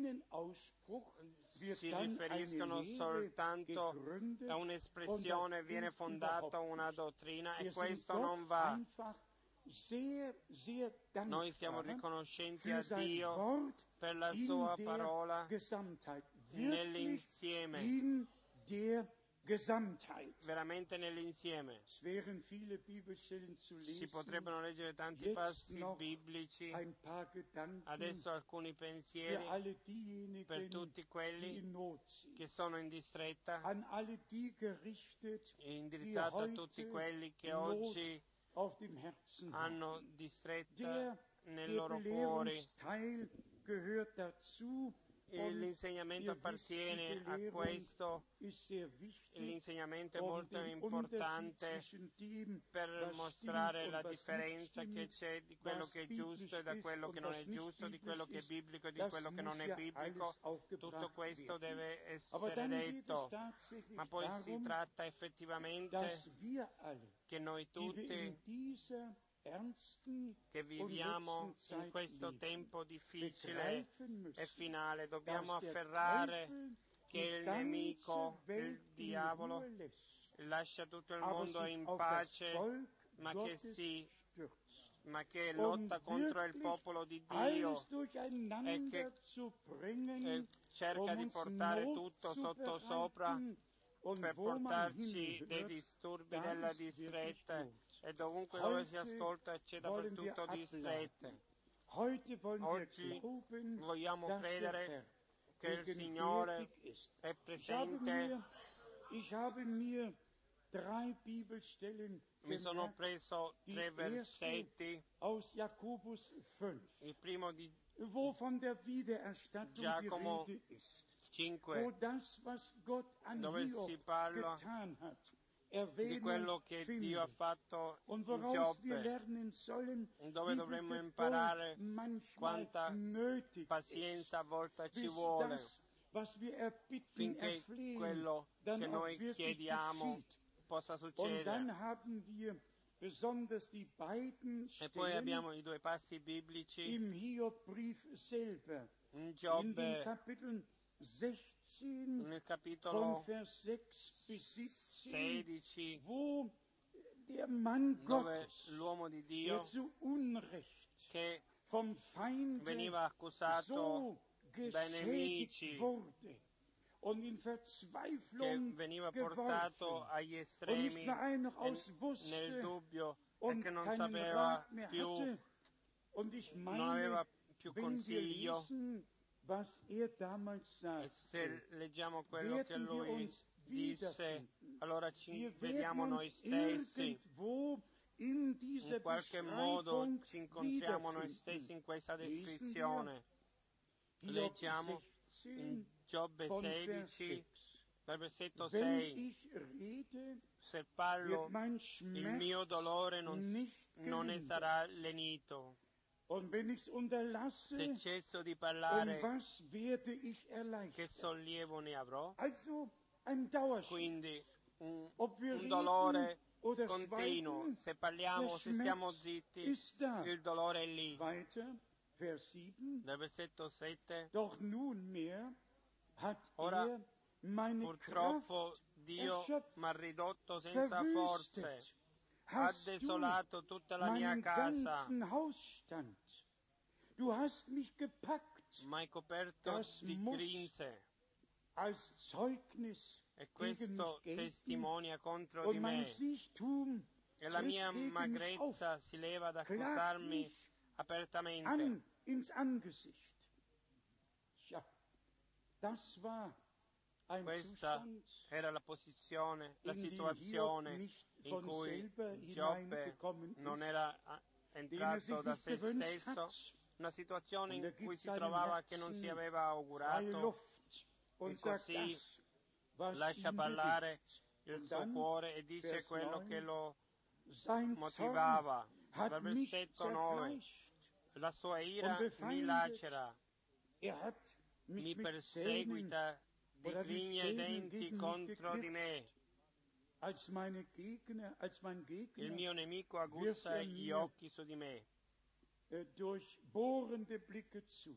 si riferiscono soltanto a un'espressione, viene fondata una dottrina, e questo non va. Noi siamo riconoscenti a Dio per la sua parola nell'insieme, veramente nell'insieme. Si potrebbero leggere tanti passi biblici, adesso alcuni pensieri per tutti quelli che sono in distretta, indirizzato a tutti quelli che oggi hanno distretta nel loro cuore. L'insegnamento appartiene a questo, l'insegnamento è molto importante per mostrare la differenza che c'è di quello che è giusto e da quello che non è giusto, di quello che è biblico e di quello che non è biblico. Tutto questo deve essere detto, ma poi si tratta effettivamente che noi tutti che viviamo in questo tempo difficile e finale dobbiamo afferrare che il nemico, il diavolo, lascia tutto il mondo in pace, ma che si ma che lotta contro il popolo di Dio e che eh, cerca di portare tutto sotto sopra per portarci dei disturbi della distretta, e dovunque dove si ascolta c'è dappertutto distrette. Oggi vogliamo credere che il Signore è presente. Mi sono preso tre versetti, il primo di Giacomo cinque, dove si parla di quello che Dio ha fatto in Giobbe, dove dovremmo imparare quanta pazienza a volte ci vuole finché quello che noi chiediamo possa succedere. besonders die beiden E poi Stellen abbiamo i due passi biblici im Hiobbrief selber, in in den Giobbe, Kapiteln sechzehn nel von capitolo Vers sechs bis siebzehn, sedici, wo der Mann dove Gottes, l'uomo di der Dio zu Unrecht che vom Feinde veniva accusato so dai geschädigt nemici, wurde und in che Verzweiflung veniva geworfen portato agli und nicht estremi mehr ein noch e aus nel wusste dubbio e und che non keinen sapeva Rat mehr più, hatte. Und ich non meine, aveva più wenn wir consiglio. lesen, was er damals E sagte, se leggiamo quello che werden wir lui uns disse, wiederfinden. allora ci Wir vediamo werden noi uns stessi. irgendwo in dieser In qualche modo Beschreibung ci incontriamo noi wiederfinden. stessi in questa Lesen wir descrizione. Hiob Leggiamo sechzehn in Giobbe von Vers sedici, sechs. dal versetto Wenn sei, ich rede, se parlo, wird mein il mio Schmerz dolore non, nicht non ne gelindert. sarà lenito. Und wenn ich es Se unterlasse, cesso di um parlare, was werde ich che erleichtert? sollievo ne avrò? Also ein Dauerspiel. Quindi un, Ob wir un reden dolore oder continuo. schweigen, Se parliamo, der se stiamo Schmerz zitti, ist da. il dolore è lì. Weiter, Vers sieben. Dal versetto sette, Doch nunmehr hat Ora, er meine purtroppo Kraft Dio erschöpft, mi ha ridotto senza forze, verwüstet. ha Hast du desolato tutta la mia meinen casa, ganzen Hausstand. Du hast mich gepackt mi hai coperto Das di muss grinze. als Zeugnis E gegen mich questo gelten testimonia contro di und mein me. Siechtum E la tritt mia gegen mich auf, magrezza si leva ad klagt accusarmi mich apertamente. an ins Angesicht. Ja, das war ein Questa Zustand, era la posizione, la in die situazione Hiob nicht in von cui selber Giobbe hineingekommen non ist, era ah, den er entrato sich da nicht se gewünscht stesso, hat. una situazione Und in er cui gibt si seinem trovava che non si Herzen aveva freie augurato, Luft und e sagt così das, was lascia ihn parlare bewegt. il Und suo dann, cuore e dice Vers quello che neun, lo sein Zorn motivava. hat Dal mich versetto nove, zerfleischt la sua und ira mi befeindet. lacera, Er hat mich mi mit Zähnen perseguita di oder mit griglie e Zähnen denti gegen mich contro di geknipst. me. Als meine Gegner, als mein Il Gegner mio nemico wirft aguzza er gli mir occhi su di me. äh, durchbohrende Blicke zu.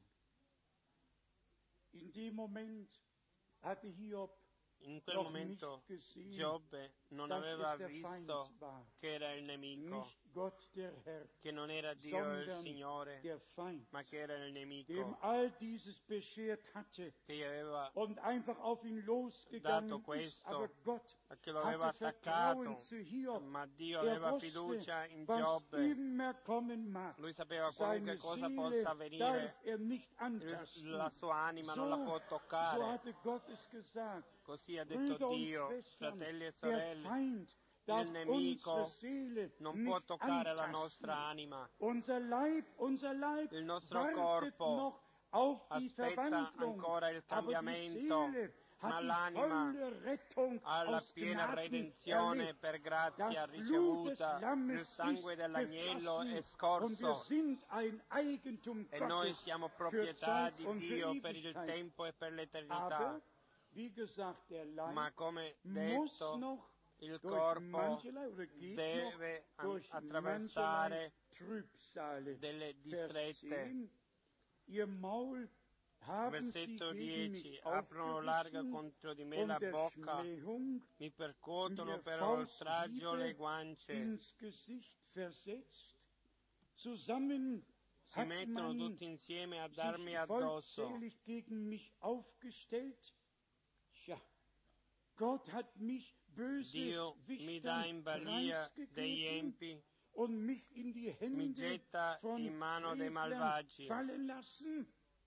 In dem Moment hatte Hiob In quel noch momento nicht gesehen, Giobbe non dass aveva es der Feind visto war. che era il nemico, Nicht Gott der Herr, che non era Dio il sondern Signore, der Feind, ma che era il dem nemico all dieses beschert hatte che gli aveva und einfach auf ihn dato losgegangen ist. questo, Aber Gott che lo aveva hatte Vertrauen attaccato, zu Hiob. ma Dio Er aveva wusste, fiducia in was Giobbe. immer kommen mag. Lui sapeva Seine qualunque cosa Seele possa darf avvenire, er nicht il- antasten. la sua anima non la può So, so toccare. hatte Gott es gesagt. Così ha detto Brüder und Dio, Schwestern, fratelli e der sorelle, Feind darf il nemico unsere Seele non può nicht toccare la antasten. nostra anima. Unser Leib, unser Leib Il nostro wartet corpo noch auf die aspetta Verwandlung, ancora il aber die cambiamento, Seele ma hat die l'anima volle Rettung ha la aus piena Gnaden redenzione erlebt. per grazia Das Blut des ricevuta, il Lammes sangue ist dell'agnello è geflossen und wir scorso sind ein Eigentum e noi Gottes siamo für proprietà Zeit di und für Dio per il Ewigkeit. tempo e per l'eternità. Aber, wie gesagt, der Leib Ma come muss detto, noch il durch corpo mancherlei oder geht deve noch durch mancherlei attraversare Trübsale. delle Vers distrette. zehn, ihr Maul haben sie Versetto gegen dieci, mich aprono larga aufgerissen contro di me und la der bocca, Schmähung mi percuotono mir per oltraggio le Fausthiebe guance, ins Gesicht versetzt. Zusammen si hat mettono man tutti insieme a darmi sich addosso. vollzählig gegen mich aufgestellt. Tja, Gott hat mich böse Dio mi dà in balia degli preisgegeben empi, und mich in die mi Hände getta von in mano dei Frevlern malvagi. fallen lassen.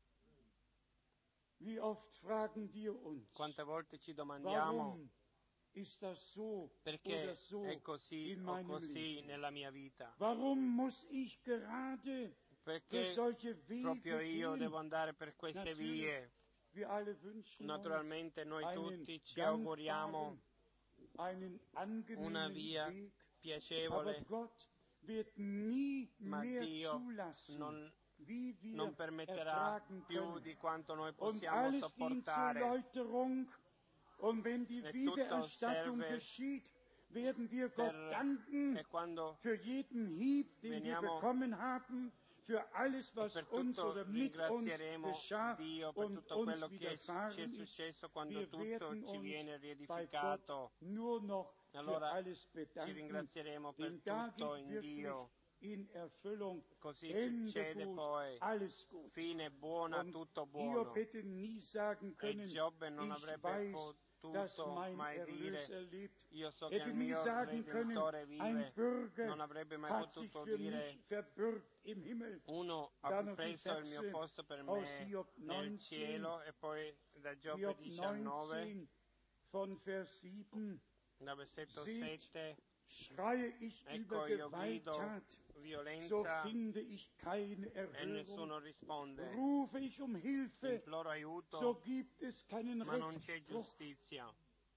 Wie oft fragen wir uns, Quante volte ci domandiamo warum ist das so perché oder so è così in o meinem così Leben? nella mia vita? Warum muss ich gerade durch Perché solche Wege proprio io gehen? devo andare per queste Natürlich, vie? wir alle wünschen Naturalmente noi uns tutti ci einen auguriamo dankbaren, einen una angenehmen via Weg, aber piacevole, Gott wird nie ma mehr Dio zulassen, non, wie wir non permetterà ertragen più können. di quanto noi Und possiamo alles dient zur sopportare. Läuterung. Und wenn die E tutto Wiedererstattung serve geschieht, werden wir per, Gott danken e quando für jeden Hieb, den wir veniamo, bekommen haben, für alles, was per uns tutto oder mit uns ringrazieremo geschah Dio per und tutto uns quello che ci è widerfahren ist. successo quando Wir tutto werden ci uns viene bei Gott riedificato. nur noch für Allora alles ci bedanken, ringrazieremo per denn da tutto geht in wirklich Dio. in Erfüllung Così Ende succede gut, poi, alles gut. fine buona, Und tutto Hiob buono. hätte nie sagen E können, Giobbe non ich avrebbe weiß, dass potuto mein mai dire, Erlöser lebt. io so che Hätte il nie mio sagen können, Redentore ein vive. Bürger Non avrebbe mai hat sich potuto für dire, mich verbürgt im Himmel. uno ha Da noch die preso il mio Verse posto per aus me Hiob nel neunzehn, cielo, e poi da Giobbe Hiob diciannove, neunzehn von Vers sieben. da versetto Seht, sette, schreie ich ecco über io grido Gewalttat, so violenza finde ich keine e Erhörung. nessuno risponde. Rufe ich um Hilfe, Imploro aiuto, so gibt es keinen ma non c'è Rechtsspruch. giustizia.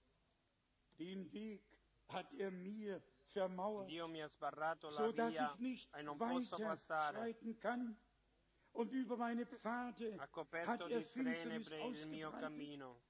Den Weg hat er mir vermauert, Dio mi ha sbarrato la so dass via ich nicht e non posso weiter passare. schreiten kann. Und über meine Pfade Ha hat coperto er di Finsternis tenebre il mio ausgebreitet. cammino.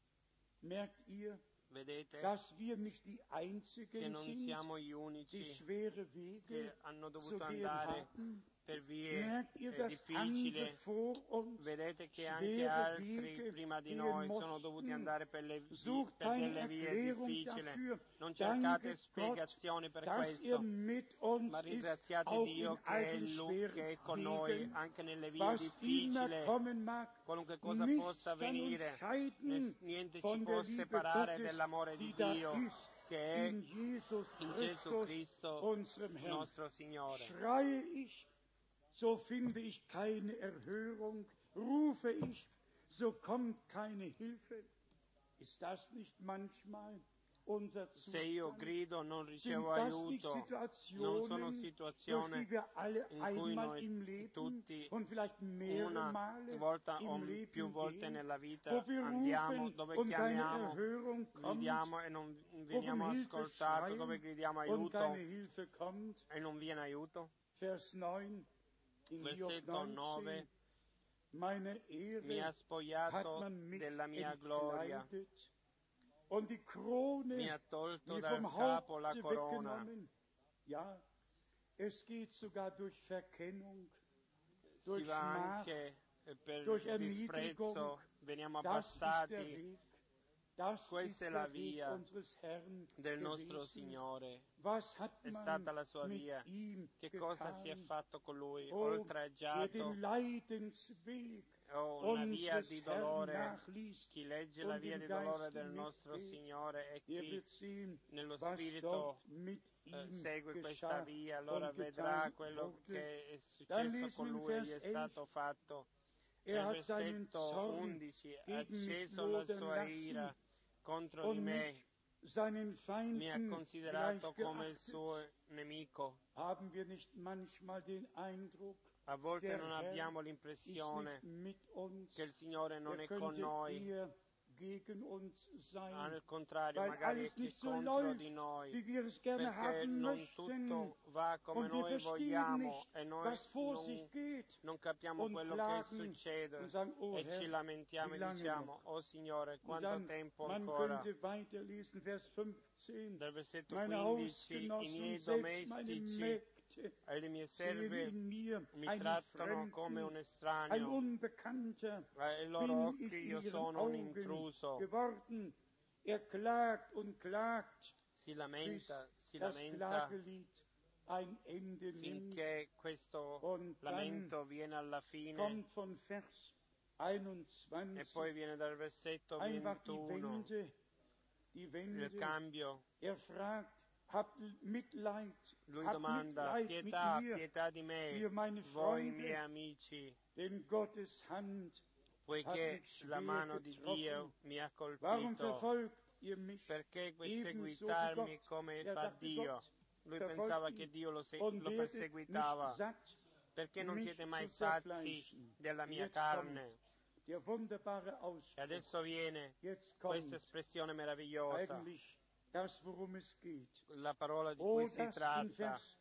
Merkt ihr, Vedete dass wir nicht die che Einzigen non sind, siamo gli die unici schwere Wege che hanno zu dovuto gehen andare haben? per vie Merkt ihr, eh, dass andere difficili. vor uns Vedete che anche schwere altri Wege prima di gehen noi sono dovuti mussten? andare per, le, vi- Sucht per keine delle vie Erklärung difficili. dafür. Non cercate Danke spiegazioni Gott, per dass er questo, mit uns ma ist, ringraziate auch Dio in che all è den Lui che è schweren con noi Wegen, anche nelle vie was immer difficili. kommen mag. Qualunque cosa Nichts possa kann uns avvenire, scheiden ness- niente ci von può der Liebe separare Gottes, dell'amore di die da Dio ist, che è in Jesus in Gesù Christus, Cristo, unserem Herrn. nostro Signore. Schreie ich, so finde ich keine Erhörung. Rufe ich, so kommt keine Hilfe. Ist das nicht manchmal unser Se io Zustand? grido non Sind ricevo das nicht aiuto, non sono Situationen, durch situazioni die wir alle in cui einmal im noi Leben tutti und vielleicht mehrere una Male volta o im Leben più volte gehen, nella vita wo wir andiamo, rufen dove und keine chiamiamo, Erhörung kommt, gridiamo e non wo wir veniamo um Hilfe ascoltati, dove schreien gridiamo und aiuto keine Hilfe kommt? e non viene aiuto? Vers neun in Hiob Versetto nove, neunzehn. Meine mi ha Ehre hat spogliato man mich della mia gloria, entkleidet und die Krone mi ha tolto mir dal vom capo la Haupte corona. weggenommen. Ja, es geht sogar durch Verkennung, Si durch va Schmach, anche eh, per durch Erniedrigung. disprezzo, veniamo Das ist der abbassati. Weg. Das ist Questa è der la Weg via unseres Herrn del nostro gewesen. Signore. Was hat È man stata la sua mit via. ihm Che cosa si è getan? fatto con lui? Oh, wer den Oltraggiato, Leidensweg o una via unseres di Herrn dolore. nachliest Chi legge la und via im di dolore Geiste del nostro mitgeht, Signore e der chi wird sehen, nello was Spirito dort mit eh, ihm segue questa geschah via, allora und vedrà getan quello wurde. che è Dann successo lesen con wir in lui e gli Vers è stato fatto. Er Nel hat seinen versetto Zorn undici, ha gegen mich acceso la lodern sua lassen ira contro di und me, mich seinen mi ha Feinden considerato come il gleichgeachtet. suo nemico. Haben wir nicht manchmal den Eindruck, A volte der non Herr abbiamo ist l'impressione nicht mit uns, che il Signore non er è con könnte noi, eher gegen uns sein, al contrario, weil magari è alles chi nicht so contro läuft, di noi, wie wir es gerne perché haben non möchten. tutto va come Und wir noi verstehen vogliamo nicht, e noi was vor sich non, geht. non capiamo Und quello che klagen succede und sagen, oh e ci Herr, lamentiamo wie e lange diciamo, noch? oh Signore, Und quanto dann, tempo man ancora? könnte weiterlesen, Vers fünfzehn. Dal versetto Meine quindici, i Hausgenossen, miei selbst meine domestici Mägde, e le mie sehen serve in mir mi einen trattano come un Fremden, ein estraneo, Unbekannter. e ai loro Bin occhi ich in io ihren sono un Augen intruso. geworden. Er klagt und klagt, Si bis lamenta, si das lamenta Klagelied ein Ende nimmt. finché questo Und dann lamento viene alla fine kommt von Vers e einundzwanzig poi viene dal versetto einfach die ventuno Wende, die il Wende. cambio. Er fragt, habt Mitleid, Lui habt domanda, Mitleid pietà, mit mir, pietà di me, ihr meine voi Freunde, miei amici, denn Gottes Hand hat poiché mich la schwer mano di getroffen. Dio mi ha Warum colpito. verfolgt ihr mich? Perché Ebenso wie perseguitarmi Gott. come Er fa dachte, Dio? Gott Lui verfolgt pensava ihn che Dio lo, se- und lo werdet perseguitava. nicht satt, Perché non mich siete mai zu sazi zerfleischen. della mia Jetzt carne? kommt der wunderbare E Ausspruch. adesso viene Jetzt kommt questa espressione meravigliosa, eigentlich das, worum es geht. la parola di Oh, cui si das in tratta, Vers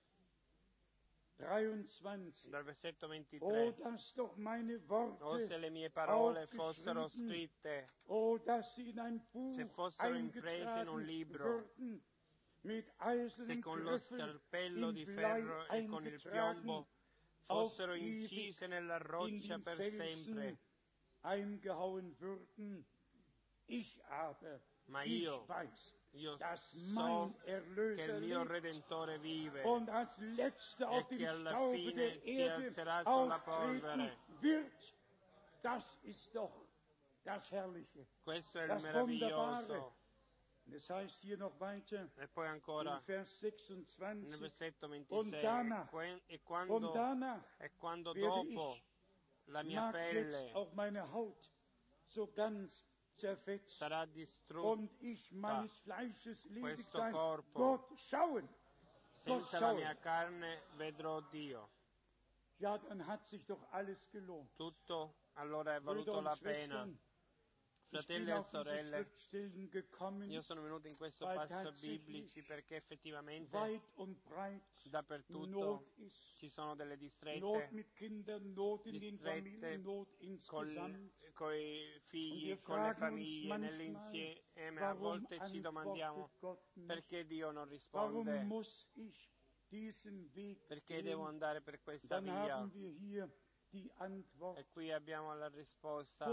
dreiundzwanzig. dal versetto Oh, ventitré. dass doch meine O se Worte, le mie parole fossero aufgeschrieben, scritte, oh, dass sie in ein Buch se fossero imprese in un eingetragen libro, würden, se con lo scalpello di ferro e con il piombo fossero incise nella roccia per sempre. Ma io, io so che il mio Redentore vive e che alla fine si alzerà sulla polvere. Questo è il meraviglioso. E poi ancora nel versetto ventisei, e quando, e quando dopo la mia pelle sarà distrutta, questo corpo, senza la mia carne vedrò Dio. Tutto allora è valuto la pena. Fratelli e sorelle, io sono venuto in questo passo biblici perché effettivamente dappertutto ci sono delle distrette, distrette con i figli, con le famiglie, nell'insieme. A volte ci domandiamo perché Dio non risponde, perché devo andare per questa via. E qui abbiamo la risposta.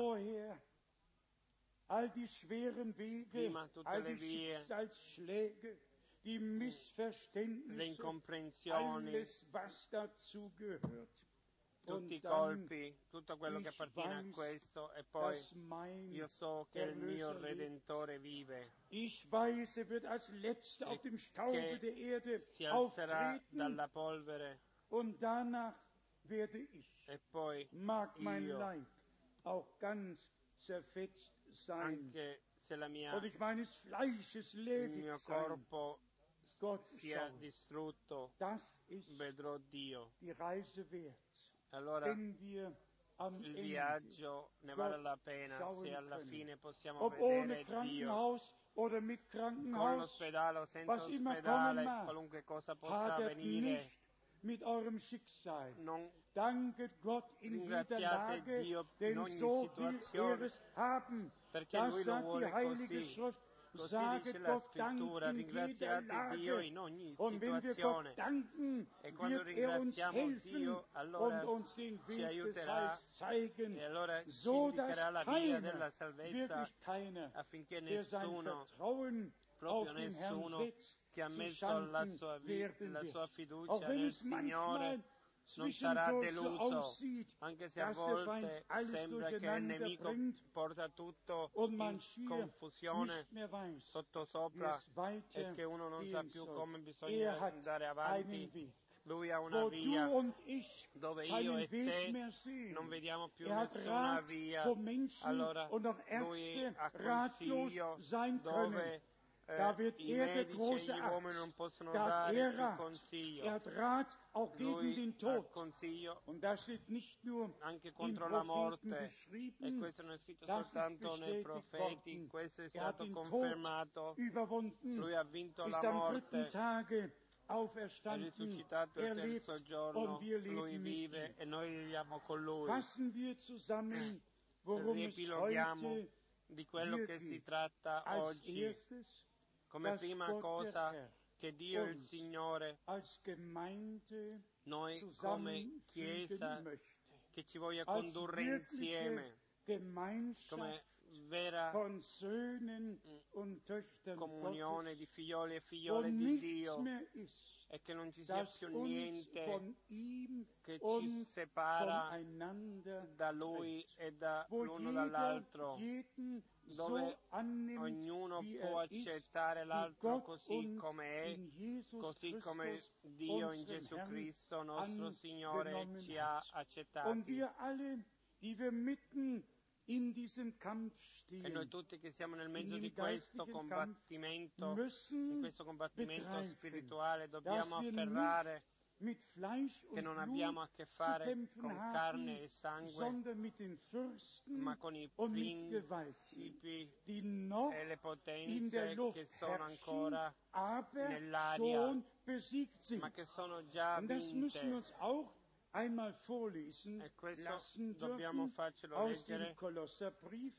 All die schweren Wege, Prima tutte all le die vie, Schicksalsschläge, die Missverständnisse, le incomprensioni, alles was dazu gehört. tutti i colpi, tutto quello che appartiene a questo, e poi io so che il mio Redentore vive, Ich weiß, er wird als letzter auf dem Staube der Erde si alzerà auftreten, dalla polvere, und danach werde ich, e poi mag mein io, Leib auch ganz zerfetzt sein, anche se la mia, und ich meines Fleisches il ledig mio sein. corpo Gott sia schaut. distrutto, Das ist vedrò Dio. die Reise wert. Allora Wenn wir am il Ende, viaggio ne vale la pena schauen se alla können. fine possiamo ob ohne vedere Dio, Krankenhaus oder mit con Krankenhaus, l'ospedale o senza was immer ospedale, kommen mag, qualunque cosa possa hadert avvenire. nicht mit eurem Schicksal. Non Danket Gott in jeder ringraziate Lage, Dio denn in ogni so will er situazione, es haben. perché Das Lui lo sagt die vuole Heilige così. Schrift. Così Saget dice la Gott Dank Scrittura, in jeder ringraziate Dio Lage. in ogni Und wenn wir Gott situazione. danken, E quando wird er uns ringraziamo helfen Dio, allora und uns den ci Weg des aiuterà Heils zeigen, e allora ci so dass indicherà la via keiner, della salvezza, wirklich keiner, affinché der sein nessuno, Vertrauen auf proprio den Herrn nessuno, setzt, che ha zu messo la Schanden sua, vi- werden la wird. sua Auch fiducia wenn nel es Signore, manchmal non sarà zwischendurch so deluso, aussieht, anche se a dass der Feind volte alles sembra che il durcheinander nemico bringt porta tutto und in man schier confusione nicht mehr weiß, wie sottosopra es weiter e che uno non sa gehen più soll. come Er bisogna hat andare einen avanti. Weg, Lui ha una wo via du und ich dove io keinen e Weg te mehr sehen. non vediamo più Er hat nessuna Rat, via. wo Menschen Allora und auch lui Ärzte ha ratlos consiglio sein können. dove eh, Da wird i er der medici e große gli uomini non Arzt. possono Da hat dare er il Rat. consiglio. Er hat Rat auch gegen Lui den ha Tod. consiglio Und das steht nicht nur anche in contro la Propheten morte, e geschrieben, questo non è scritto das ist soltanto nei bestätigt profeti, worden. questo è Er hat stato den Tod confermato. überwunden, Lui ha vinto ist la am dritten morte, Tage è auferstanden. risuscitato Er il lebt terzo giorno, und wir lui leben mit vive ihm. e noi viviamo con lui. Fassen wir zusammen, worum es Riepiloghiamo heute di quello hier che si geht. tratta Als oggi, erstes, come dass prima Gott cosa der Herr che Dio il uns Signore, als Gemeinde noi come zusammenfügen Chiesa, möchte. che ci voglia Als condurre wirkliche insieme Gemeinschaft come vera von Söhnen und Töchtern comunione di Gottes, figlioli e wo figliole di nichts Dio, mehr ist, e che non ci sia das più uns niente von ihm che ci und separa voneinander da Lui trennt. e da Wo l'uno jeder dall'altro, jeden dove so annimmt, ognuno wie può er ist, accettare wie l'altro Gott così uns come è, in Jesus così come Christus, Dio in unserem Gesù Herrn, Cristo, nostro Signore, angenommen ci ha hat. Und accettati. wir alle, die wir mitten in diesem Kampf E noi stehen, tutti che siamo nel in mezzo di dem questo geistlichen Kampf, combattimento, in müssen questo combattimento begreifen, spirituale, dobbiamo dass wir afferrare mit Fleisch che und non Blut abbiamo a che zu fare kämpfen con haben, carne e sangue, sondern mit den Fürsten ma con i und mit Gewalten, principi die noch e le in der potenze Luft che sono herrschen, ancora aber nell'aria, schon besiegt sind. ma che sono già Und das müssen wir vinte. uns auch einmal vorlesen E questo lassen dobbiamo dürfen farcelo aus dem leggere Kolosserbrief,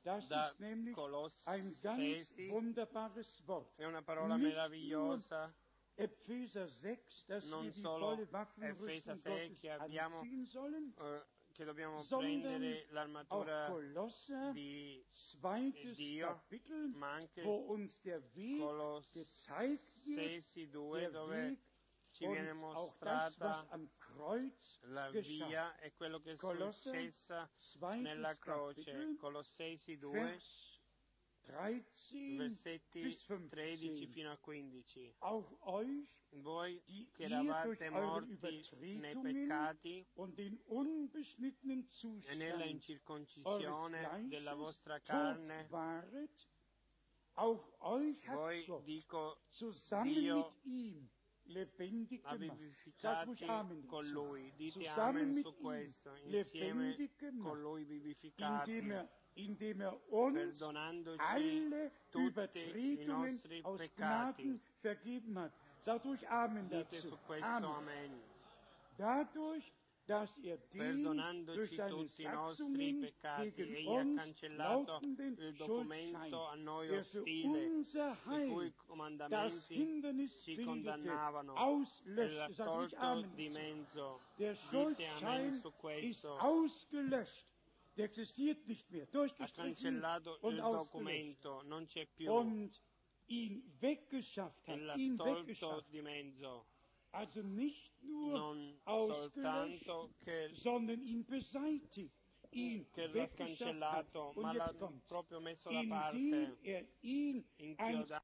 Das da ist nämlich ein ganz Colossesi, wunderbares Wort. è una parola Nicht meravigliosa, Epheser sechs, dass wir non die solo volle Efesa Waffenrüstung sei Gottes che abbiamo anziehen sollen, eh, che dobbiamo sondern prendere auch l'armatura Kolosser, di zweites Dio, Kapitel, ma anche wo uns der Weg gezeigt wird, Colossesi due, der dove Weg ci viene und auch das, was mostrata am Kreuz la geschah. via e quello che è Kolosser, successa zweites nella croce. Kapitel, Colossesi due, Vers dreizehn versetti bis tredici fünfzehn. fino a quindici. Auch euch, Voi die che ihr durch eravate eure morti nei Übertretungen peccati und den unbeschnittenen e Zustand nella eures incirconcisione della Fleisches vostra tot carne, waret, auch euch hat voi, Gott dico, zusammen Dio mit ihm lebendig ha gemacht. Sagt ruhig vivificati Amen con dazu. Lui. Dite Zusammen amen mit su ihm questo, insieme lebendig con gemacht, Lui vivificati, indem er, indem er uns perdonandoci alle tutti i Übertretungen nostri aus peccati. Gnaden vergeben hat. Sagt ruhig Amen Dite dazu. su questo Amen. amen. Dadurch, dass er den durch Perdonandoci seine tutti i nostri Satzungen peccati, gegen egli ha uns cancellato lautenden il Schuldschein, documento a noi der für ostile, unser i cui Heil das comandamenti Hindernis ci bildete, condannavano, e l'ha auslöscht. Sagt ruhig tolto Amen di dazu. mezzo. Der Dite amen Schuldschein su ist questo. ausgelöscht. Der existiert nicht mehr. Ha Durchgestrichen cancellato und il ausgelöscht. documento, non c'è più, Und ihn weggeschafft e hat. l'ha Ihn tolto weggeschafft. di mezzo. Also nicht nur Non ausgelöscht, soltanto che, sondern ihn beseitigt. Ihn che l'ha weggeschafft hat. cancellato, ma Und l'ha jetzt kommt, proprio messo da indem parte, er ihn inchiodato.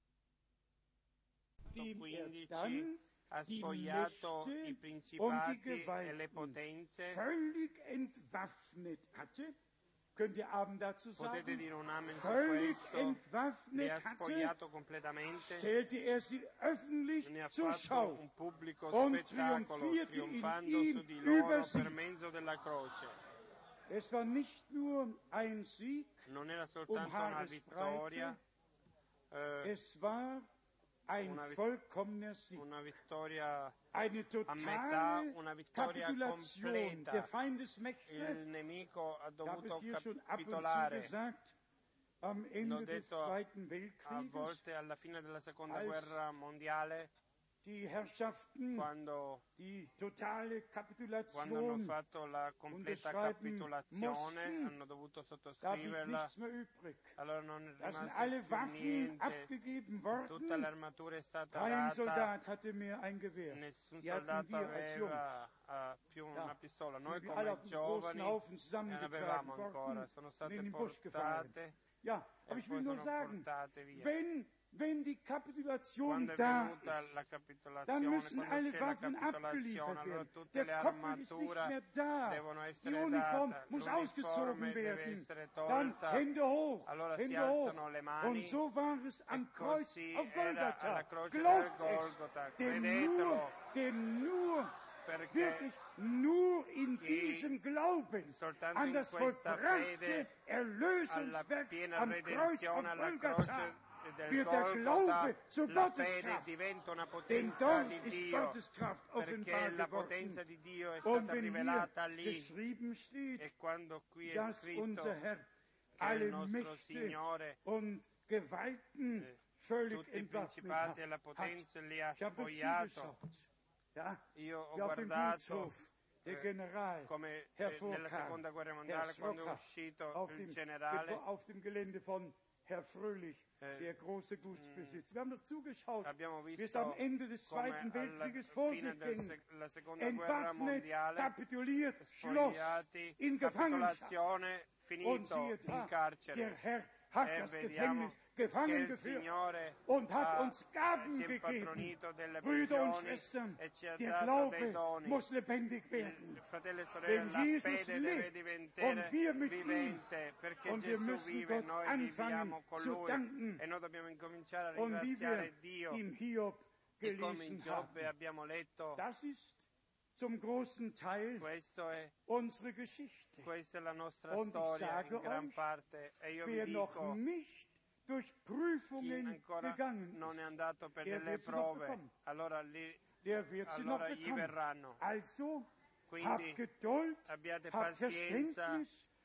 dem er quindici dann ha die spogliato Mächte i und die principati e le Gewalten potenze. völlig entwaffnet hatte. Könnt ihr Abend dazu Potete sagen? dire un amen su Völlig questo. Li ha entwaffnet hatte, spogliato completamente, stellte er sie öffentlich ne ha zur fatto Schau un pubblico und spettacolo, triumphierte in trionfando ihm su di loro über sie. per mezzo della croce. Es war nicht nur ein Sieg Non era um soltanto una Haaresbreite, vittoria, eh, es war ein una vit- vollkommener Sieg. una vittoria Eine a metà, totale una vittoria Kapitulation der completa. Feindesmächte. Il nemico ha Ich habe dovuto es hier schon ab und zu capitolare. gesagt, am L'ho Ende des detto Zweiten a Weltkrieges, volte alla fine della seconda als guerra mondiale, die Herrschaften quando, die totale quando hanno Kapitulation fatto la completa unterschreiben capitolazione, mussten, hanno dovuto da blieb sottoscriverla, nichts mehr übrig. allora non è Da sind rimasto alle più Waffen niente, abgegeben tutta worden. l'armatura è stata Kein data, Soldat hatte mehr ein Gewehr. nessun Die hatten soldato wir als Jungs. aveva eh, più Ja, una pistola. Noi sind wir alle come auf dem großen giovani Haufen non zusammengetragen avevamo ancora, worden sono und state in den Busch gefahren. portate Ja, e aber ich poi will nur sono sagen, portate via. wenn, wenn die Kapitulation Quando è da venuta ist, la dann capitolazione, müssen quando alle c'è la Waffen capitolazione, abgeliefert allora werden. tutte Der le Koppel ist nicht armature mehr da. devono Die essere Uniform date, muss ausgezogen l'uniforme deve werden. essere Dann tolta, Hände hoch, allora si Hände hoch. alzano le Und mani, so war es e am Kreuz così auf era Golgatha. alla croce del Glaubt es, Golgota, denn nur, credetelo, denn nur, perché wirklich nur in chi diesem Glauben soltanto an in das questa vollbrachte fede alla Erlösungswerk piena am Kreuz auf redenzione, alla Golgatha croce del wird der Golgota, Glaube zur la fede Gotteskraft. diventa una Denn potenza dort di ist Dio, Gottes Kraft perché offenbar la geworden. potenza di Dio è Und stata wenn hier rivelata lì. geschrieben steht, E quando qui è dass scritto unser Herr che il alle nostro Mächte Signore und Gewalten eh, völlig tutti i entwaffnet principati e la hat. potenza li ha Ich habe dazu spogliato, geschaut. Ja, io ho wie auf dem guardato Gutshof der eh, General come eh, hervorkam, nella seconda guerra Herr mondiale, quando è Sroka, uscito auf il dem, generale, auf dem Gelände von Herr Fröhlich, Eh, der große Gutsbesitz. Wir haben doch zugeschaut, abbiamo wie es am visto Ende des come Zweiten alla Weltkrieges vor fine sich del ging. sec- la seconda guerra Entwaffnet, mondiale, kapituliert, schloss spogliati, in Gefangenschaft. capitolazione, Und finito siehe in da, der carcere. Herr hat E das vediamo Gefängnis che gefangen il geführt Signore und hat ha, uns Gaben si è gegeben. impatronito delle Brüder und prigioni Schwestern, e ci ha der dato dei Glaube doni. muss lebendig werden. Il fratello e sorelle, Wenn la Jesus fede deve lebt diventare und wir mit ihm, vivente, perché und wir Gesù müssen vive e Gott noi anfangen viviamo con zu Lui, danken. e noi dobbiamo incominciare a Und wie wir ringraziare Dio, im Hiob e come in gelesen Giobbe haben. abbiamo letto. Das ist zum großen Teil Questo è, unsere Geschichte. questa è la nostra Und ich storia sage in gran euch, parte, e io vi Wer noch dico, nicht durch chi Prüfungen ancora gegangen non è ist, andato per er delle wird sie noch prove, bekommen. allora lì Der wird sie noch allora gli bekommen. verranno. Also, Quindi habt Geduld, abbiate habt pazienza, Verständnis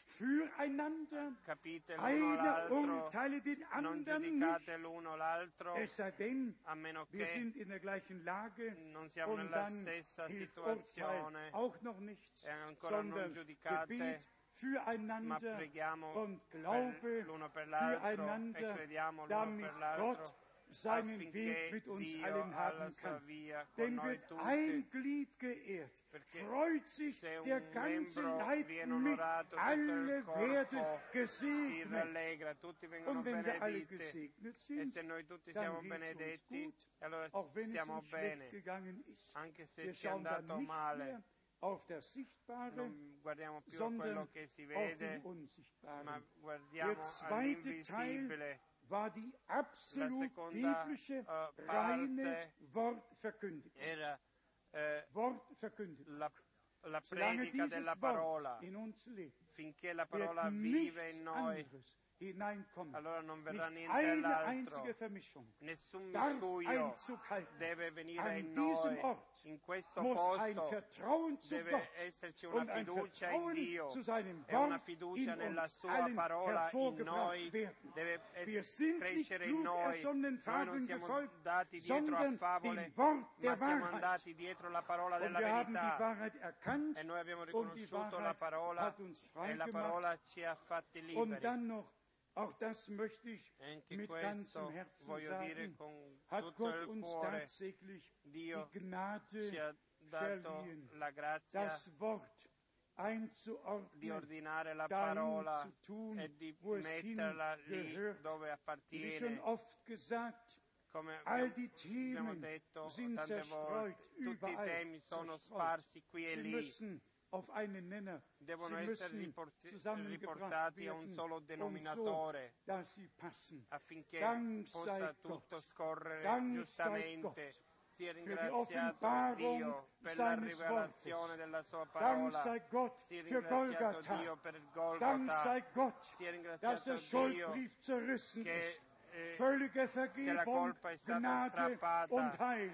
füreinander, capite l'uno einer l'altro, urteile den non anderen giudicate nicht, l'uno l'altro, es sei denn, a meno wir che sind in der gleichen Lage non siamo und nella dann stessa hilft Urteil situazione auch noch nichts, e ancora non sondern giudicate, Gebet ma füreinander preghiamo und per Glaube l'uno per l'altro e füreinander, crediamo l'uno damit per l'altro, Gott seinen affinché Weg mit uns Dio allen ha la haben sua kann. via con Denn noi wird tutti, ein Glied geehrt, perché freut sich se der un ganze membro Leib viene mit, onorato, tutto il alle werden corpo si gesegnet. rallegra, tutti vengono Und wenn wir alle benediti. gesegnet E sind, se noi tutti dann siamo geht es uns benedetti, gut, allora auch wenn es stiamo uns schlecht bene, gegangen ist. anche se Wir ci è schauen dann andato nicht male. mehr auf das Sichtbare, Non guardiamo più a sondern quello che si auf den vede, ma Unsichtbaren. Der guardiamo zweite Teil all'invisibile. war die absolut seconda, biblische, uh, reine parte Wortverkündigung. Era eh, Wortverkündigung. la, la Solange predica dieses della Wort parola, in uns lebt, finché la wird parola vive nichts in noi, anderes hineinkommen. allora non verrà Nicht niente eine dall'altro. einzige Vermischung Nessun darf miscuglio Einzug halten. deve venire An in diesem noi. Ort In questo muss ein posto Vertrauen zu deve Gott esserci una und ein fiducia in Vertrauen Dio zu seinem e una Wort fiducia in nella uns sua allen parola in hervorgebracht noi, werden. deve Wir es- sind nicht crescere in klug noi. ersonnenen Noi non Fabeln siamo gefolgt, dati dietro a sondern favole, dem Wort ma der siamo Wahrheit. andati dietro la parola Und della wir haben die verità. Wahrheit erkannt E noi abbiamo und die riconosciuto la Wahrheit parola hat uns e frei la gemacht. parola ci ha fatti Und liberi. dann noch, auch das möchte ich E anche mit ganzem questo Herzen voglio dire sagen, con hat tutto Gott il uns cuore, tatsächlich Dio die Gnade ci ha dato verliehen, la grazia das Wort di einzuordnen, ordinare la dahin parola zu tun, e di wo es metterla lì hingehört. dove Wie schon appartiene. oft gesagt, Come all abbiamo, die abbiamo Themen detto sind tante zerstreut, volte, tutti i überall temi sono zerstreut. sparsi qui e Sie lì, müssen auf einen Nenner, devono sie essere müssen riporti- zusammengebracht riportati a un werden, solo und so, denominatore, dass sie passen. affinché Dank possa sei tutto Gott. scorrere Dank sei giustamente. Gott Sia für die ringraziato Offenbarung Dio per la seines rivelazione Wortes. della sua Dank parola. sei Gott Sia für ringraziato Golgatha. Dio per il Dank Golgotha. sei Gott, Sia dass ringraziato der Dio Schuldbrief zerrissen che, ist. eh, Völlige che la Vergebung, colpa è stata Gnade strappata, und Heil.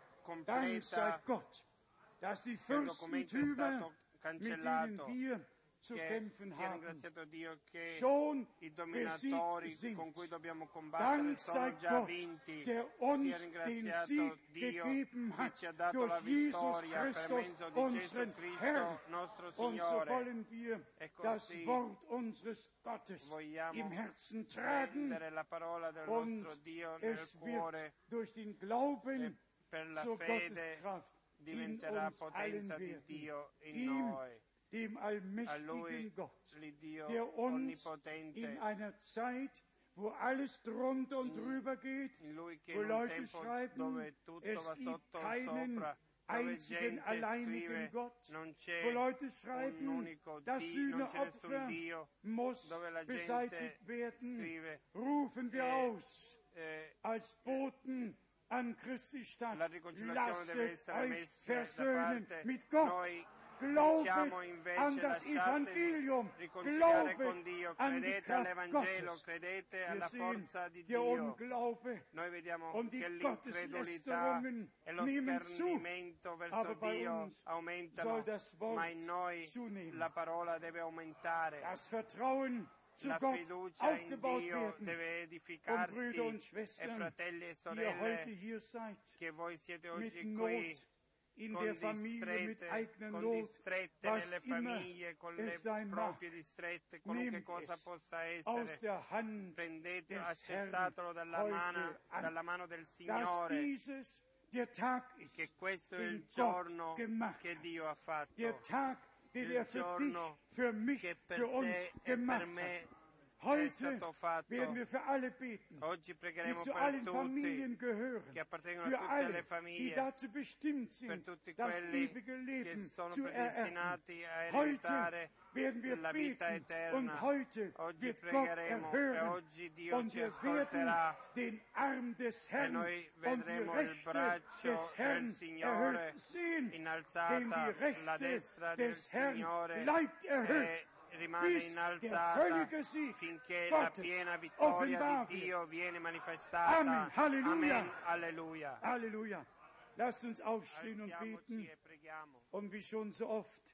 Dank sei completa, Gott, dass die che il documento è Fürstentümer, stato mit cancellato, denen wir zu che kämpfen sia haben, ringraziato Dio che schon i dominatori besiegt con sind. cui dobbiamo combattere Dank sei sono già Gott, vinti. der Sia uns den ringraziato Sieg Dio gegeben che hat ci ha dato durch la Jesus vittoria per Christus, mezzo di Gesù unseren Cristo, Herrn. nostro Und so Signore. wollen wir E das così Wort unseres Gottes vogliamo im Herzen tragen prendere la parola del und nostro Dio nel es cuore wird durch den e Glauben per la zur fede Gotteskraft in diventerà uns allen potenza di werden. Dio in Ihm, noi. dem A allmächtigen Lui, Gott, l'Iddio der uns onnipotente, in einer Zeit, wo alles drunter und drüber geht, in Lui che wo in un Leute tempo schreiben, dove tutto es va gibt sotto o keinen sopra, dove einzigen gente alleinigen scrive Gott, non wo c'è Leute un schreiben, unico das Dio, non c'è nessun Sühneopfer Dio, muss dove la gente beseitigt werden, scrive rufen wir eh, aus eh, als Boten an Christi Stadt. la riconciliazione deve Lasset essere euch messa da versöhnen parte. mit Gott. Noi Glaubet diciamo invece an das lasciatevi Evangelium, riconciliare con glaubet Dio, an die credete Kraft all'Evangelo, Gottes. credete Wir alla sehen, forza di der Dio. Unglaube Noi vediamo und die che l'incredulità Gotteslästerungen e lo nehmen zu, schernimento verso aber bei Dio uns aumentano, soll das Wort ma in noi zunehmen. la parola deve aumentare. Das Vertrauen zu La Gott fiducia in aufgebaut Dio werden. deve Und edificarsi Brüder und e Schwestern, fratelli e die ihr heute sorelle hier seid, che voi siete mit oggi qui Not in con der Familie, mit distrette, eigener con Not, distrette was nelle immer famiglie, con es le sein mag. proprie distrette, qualunque Nehmt cosa es possa aus essere. der Hand Prendete, des accettatelo Herrn dalla mano, heute an, dalla mano del dass Signore, dieses der Tag ist, che questo è den il Gott giorno gemacht che hat. Dio ha fatto, Der Tag, den il er für dich, giorno für mich, che per für uns te e gemacht per hat. me è Heute stato fatto. werden wir für alle beten, Oggi die pregheremo zu per allen tutti, Familien gehören, che appartengono für a tutte alle, le die famiglie, dazu bestimmt per sind, tutti das quelli ewige che Leben sono zu ererben. predestinati a Heute ereditare werden wir la vita beten eterna. und heute Oggi wird Gott pregheremo e erhören oggi Dio und ci wir werden ascolterà den Arm des e Herrn noi und die vedremo il Rechte braccio des del Herrn Signore erhöht sehen, denn innalzata, die la Rechte destra del des Herrn Signore bleibt erhöht, e rimane bis der innalzata völlige Sieg finché la Gottes piena vittoria offenbar di wird. Dio viene manifestata. Amen. Halleluja. Amen. Alleluia. Halleluja. Lasst uns aufstehen und Alziamoci beten. e preghiamo. Und wie schon so oft, E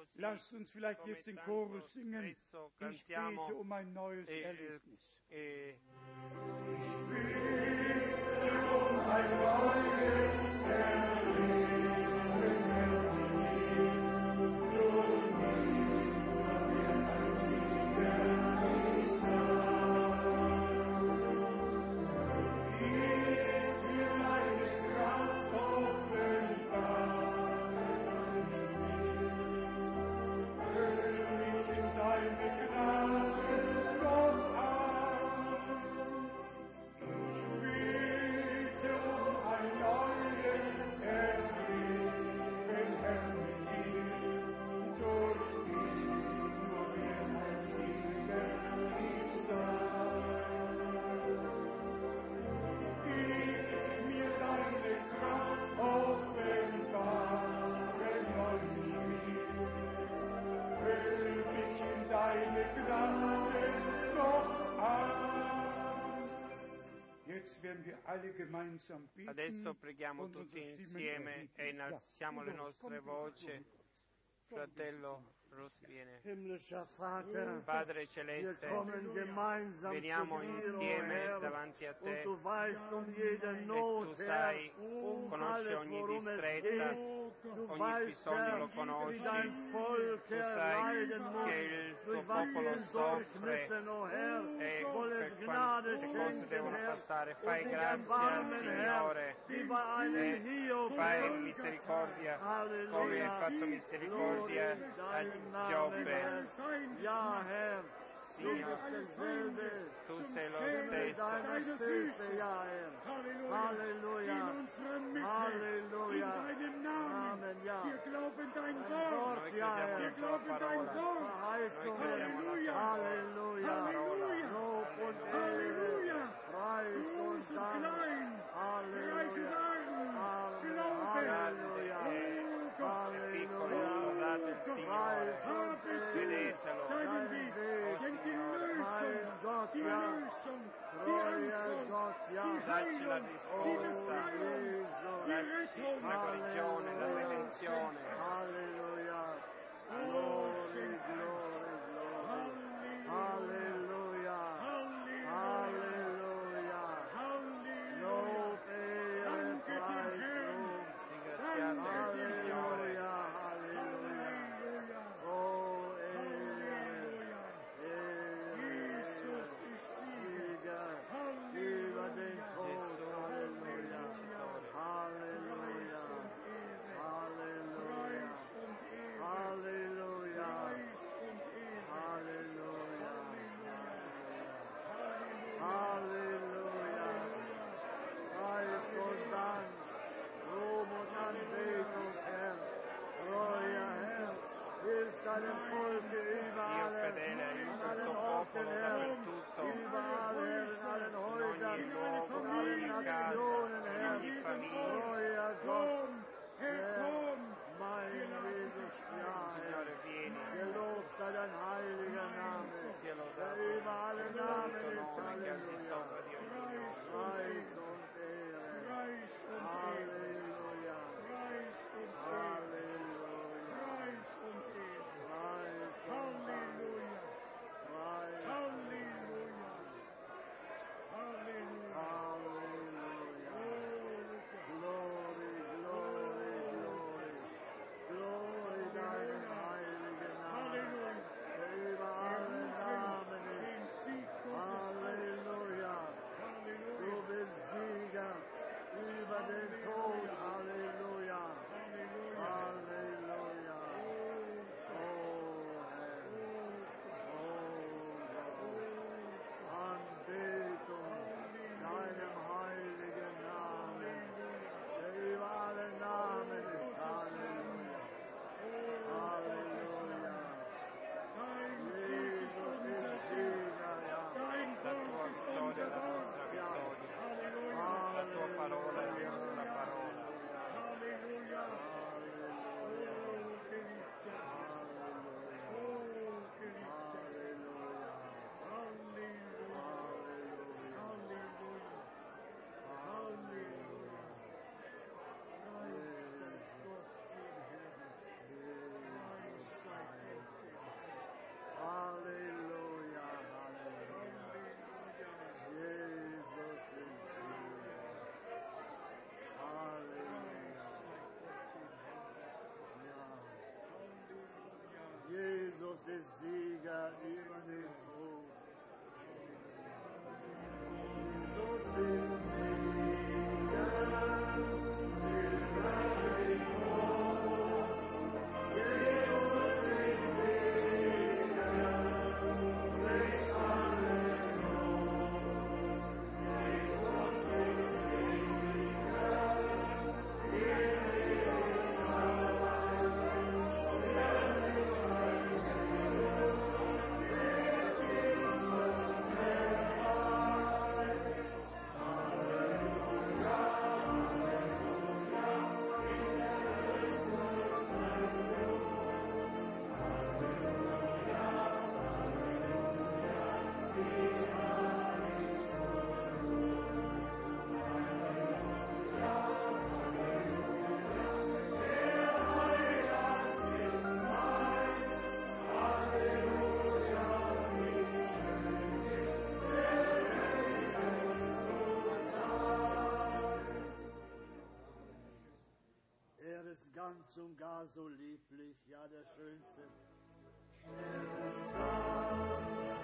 così Lasst uns vielleicht come jetzt den tanto Chorus singen. spesso Ich cantiamo bete um ein neues e- Erlebnis. e- Ich bete um ein neues Erlebnis. Durch dich wird ein Sieger sein. Gib mir deine Kraft offenbar. Füll mich in deine Gnade doch an. Ich bete um ein neues Erleben, Herr, mit dir. Durch dich nur wird ein Sieger ich sein. Gib mir deine Kraft offenbar, erneuert mich. Füll mich in deine Gnade doch an. Jetzt werden wir alle gemeinsam beten. Adesso preghiamo und tutti unsere Stimmen insieme erheben. e innalziamo Ja, le los, nostre komm, komm, voci. komm. Fratello Russ viene. Himmlischer Vater, Padre wir Celeste, kommen gemeinsam veniamo zu dir, o insieme Herr, davanti a und te du weißt um jede e tu Not, Herr, sai, um conosci alles, ogni worum es distretta, geht. Du ogni weißt, bisogno Herr, lo wie conosci, dein Volk, tu Herr, sai leiden muss, che il tuo durch was sie popolo hindurch soffre müssen, o Herr, e soll es per Gnade quante cose schenken, devono Herr, passare. und Fai dich grazia, erbarmen, Herr, Signore, wie bei einem Hiob, e fai Herr. misericordia come hai Halleluja. fatto misericordia Glory a deinem Namen, Giobbe. Herr. Ja, Herr, du Signore, bist derselbe. tu sei lo Himmel stesso. deiner Füße, ja, Herr. Halleluja. Halleluja. Amen, ja. Dein Wort, Noi ja, crediamo Herr. alla tua parola. Verheißungen. Halleluja. Halleluja. Lob und Ehre. Preis und Dank. Halleluja. Halleluja. Piccolo, lodate il Signore, Preis und Ehre. vedetelo, Dein Weg. Mein Gott, ja. Treuer Gott, ja. dacci la Oh, risposta, Gesù. dacci la guarigione, la redenzione. Halleluja. Glory, glory, und gar so lieblich, ja der Schönste. Er ist da.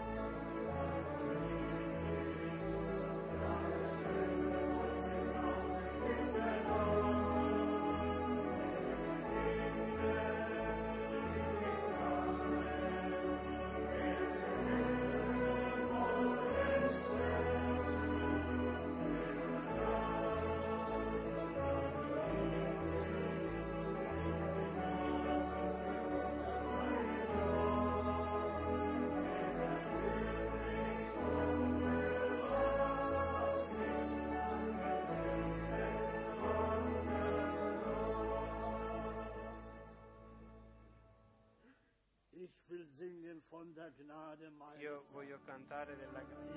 Von der Gnade meines Io voglio cantare della grazia.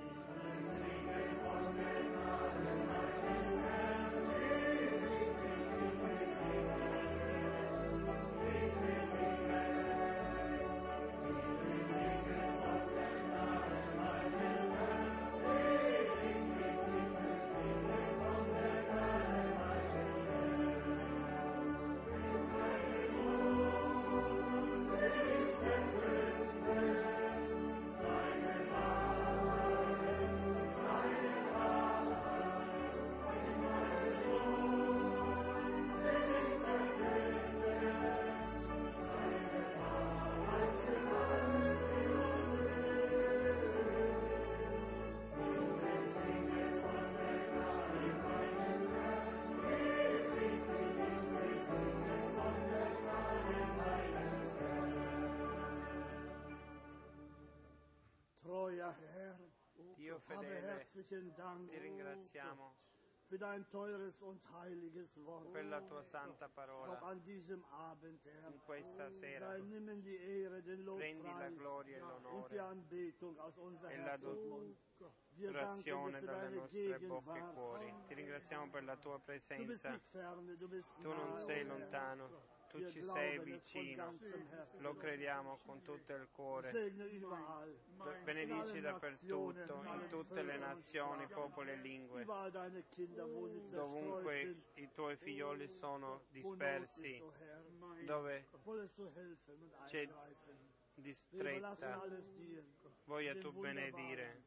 Dio fedele, ti ringraziamo für dein teures und heiliges Wort. per la tua santa parola. Auch an diesem Abend, Herr, In questa sera sei, nimm die Ehre, den prendi la Lobpreis gloria e und die l'onore Anbetung aus unser e la Herzensmund. Wir danken dir adorazione für dalle deine nostre bocche e Gegenwart. cuori. Ti ringraziamo per la tua Du bist presenza. nicht ferne, du bist Tu non nahe, sei Herr. lontano, tu Wir ci sei glauben es von vicino. ganzem Herzen. Lo crediamo con tutto il cuore. Segne überall, Benedici dappertutto, in tutte le nazioni, popoli e lingue. überall deine Kinder, wo sie zerstreut Dovunque sind. i tuoi figlioli sono dispersi, Wo Not ist, o Herr, dove wollest du helfen und c'è eingreifen. Wir überlassen distretta, alles dir. voglia Dem tu wunderbaren benedire.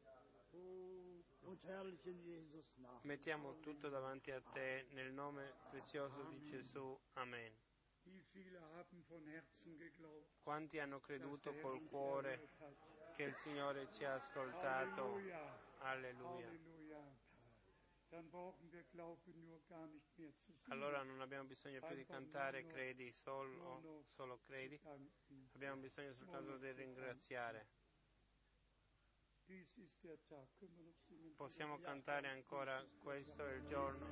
und herrlichen Jesus Namen. Mettiamo tutto davanti a te nel nome prezioso di Gesù. Amen. Wie viele haben von Herzen geglaubt, Quanti hanno dass der creduto Herr col uns cuore erhört hat? che il Signore ci ha ascoltato? Halleluja. Alleluia. Halleluja. Dann brauchen wir Glauben nur gar nicht mehr zu singen. Allora non abbiamo bisogno più di cantare credi solo, solo credi, Danken. abbiamo bisogno soltanto di ringraziare. Dies ist der Tag. Können wir noch singen? Possiamo cantare ancora, questo è il giorno.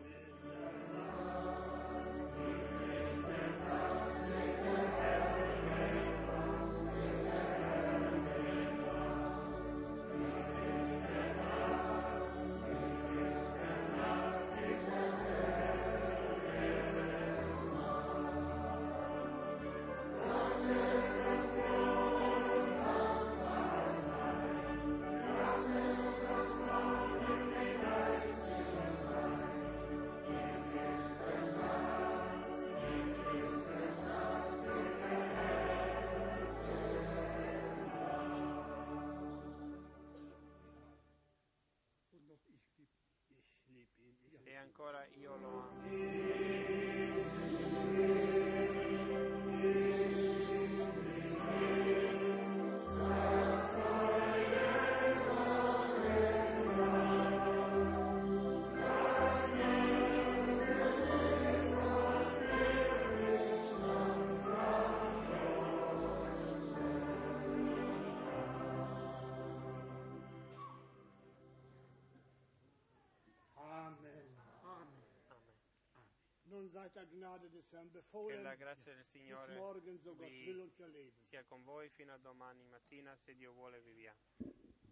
Und noch ich liebe. Ich liebe ihn. Ich E ancora io lo amo. Amen. Amen. Amen. Nun seid der Gnade des Herrn Che befohlen, la grazia del bis Signore morgen, so Gott vi will und wir leben. sia con voi fino a domani mattina, se Dio vuole vi via.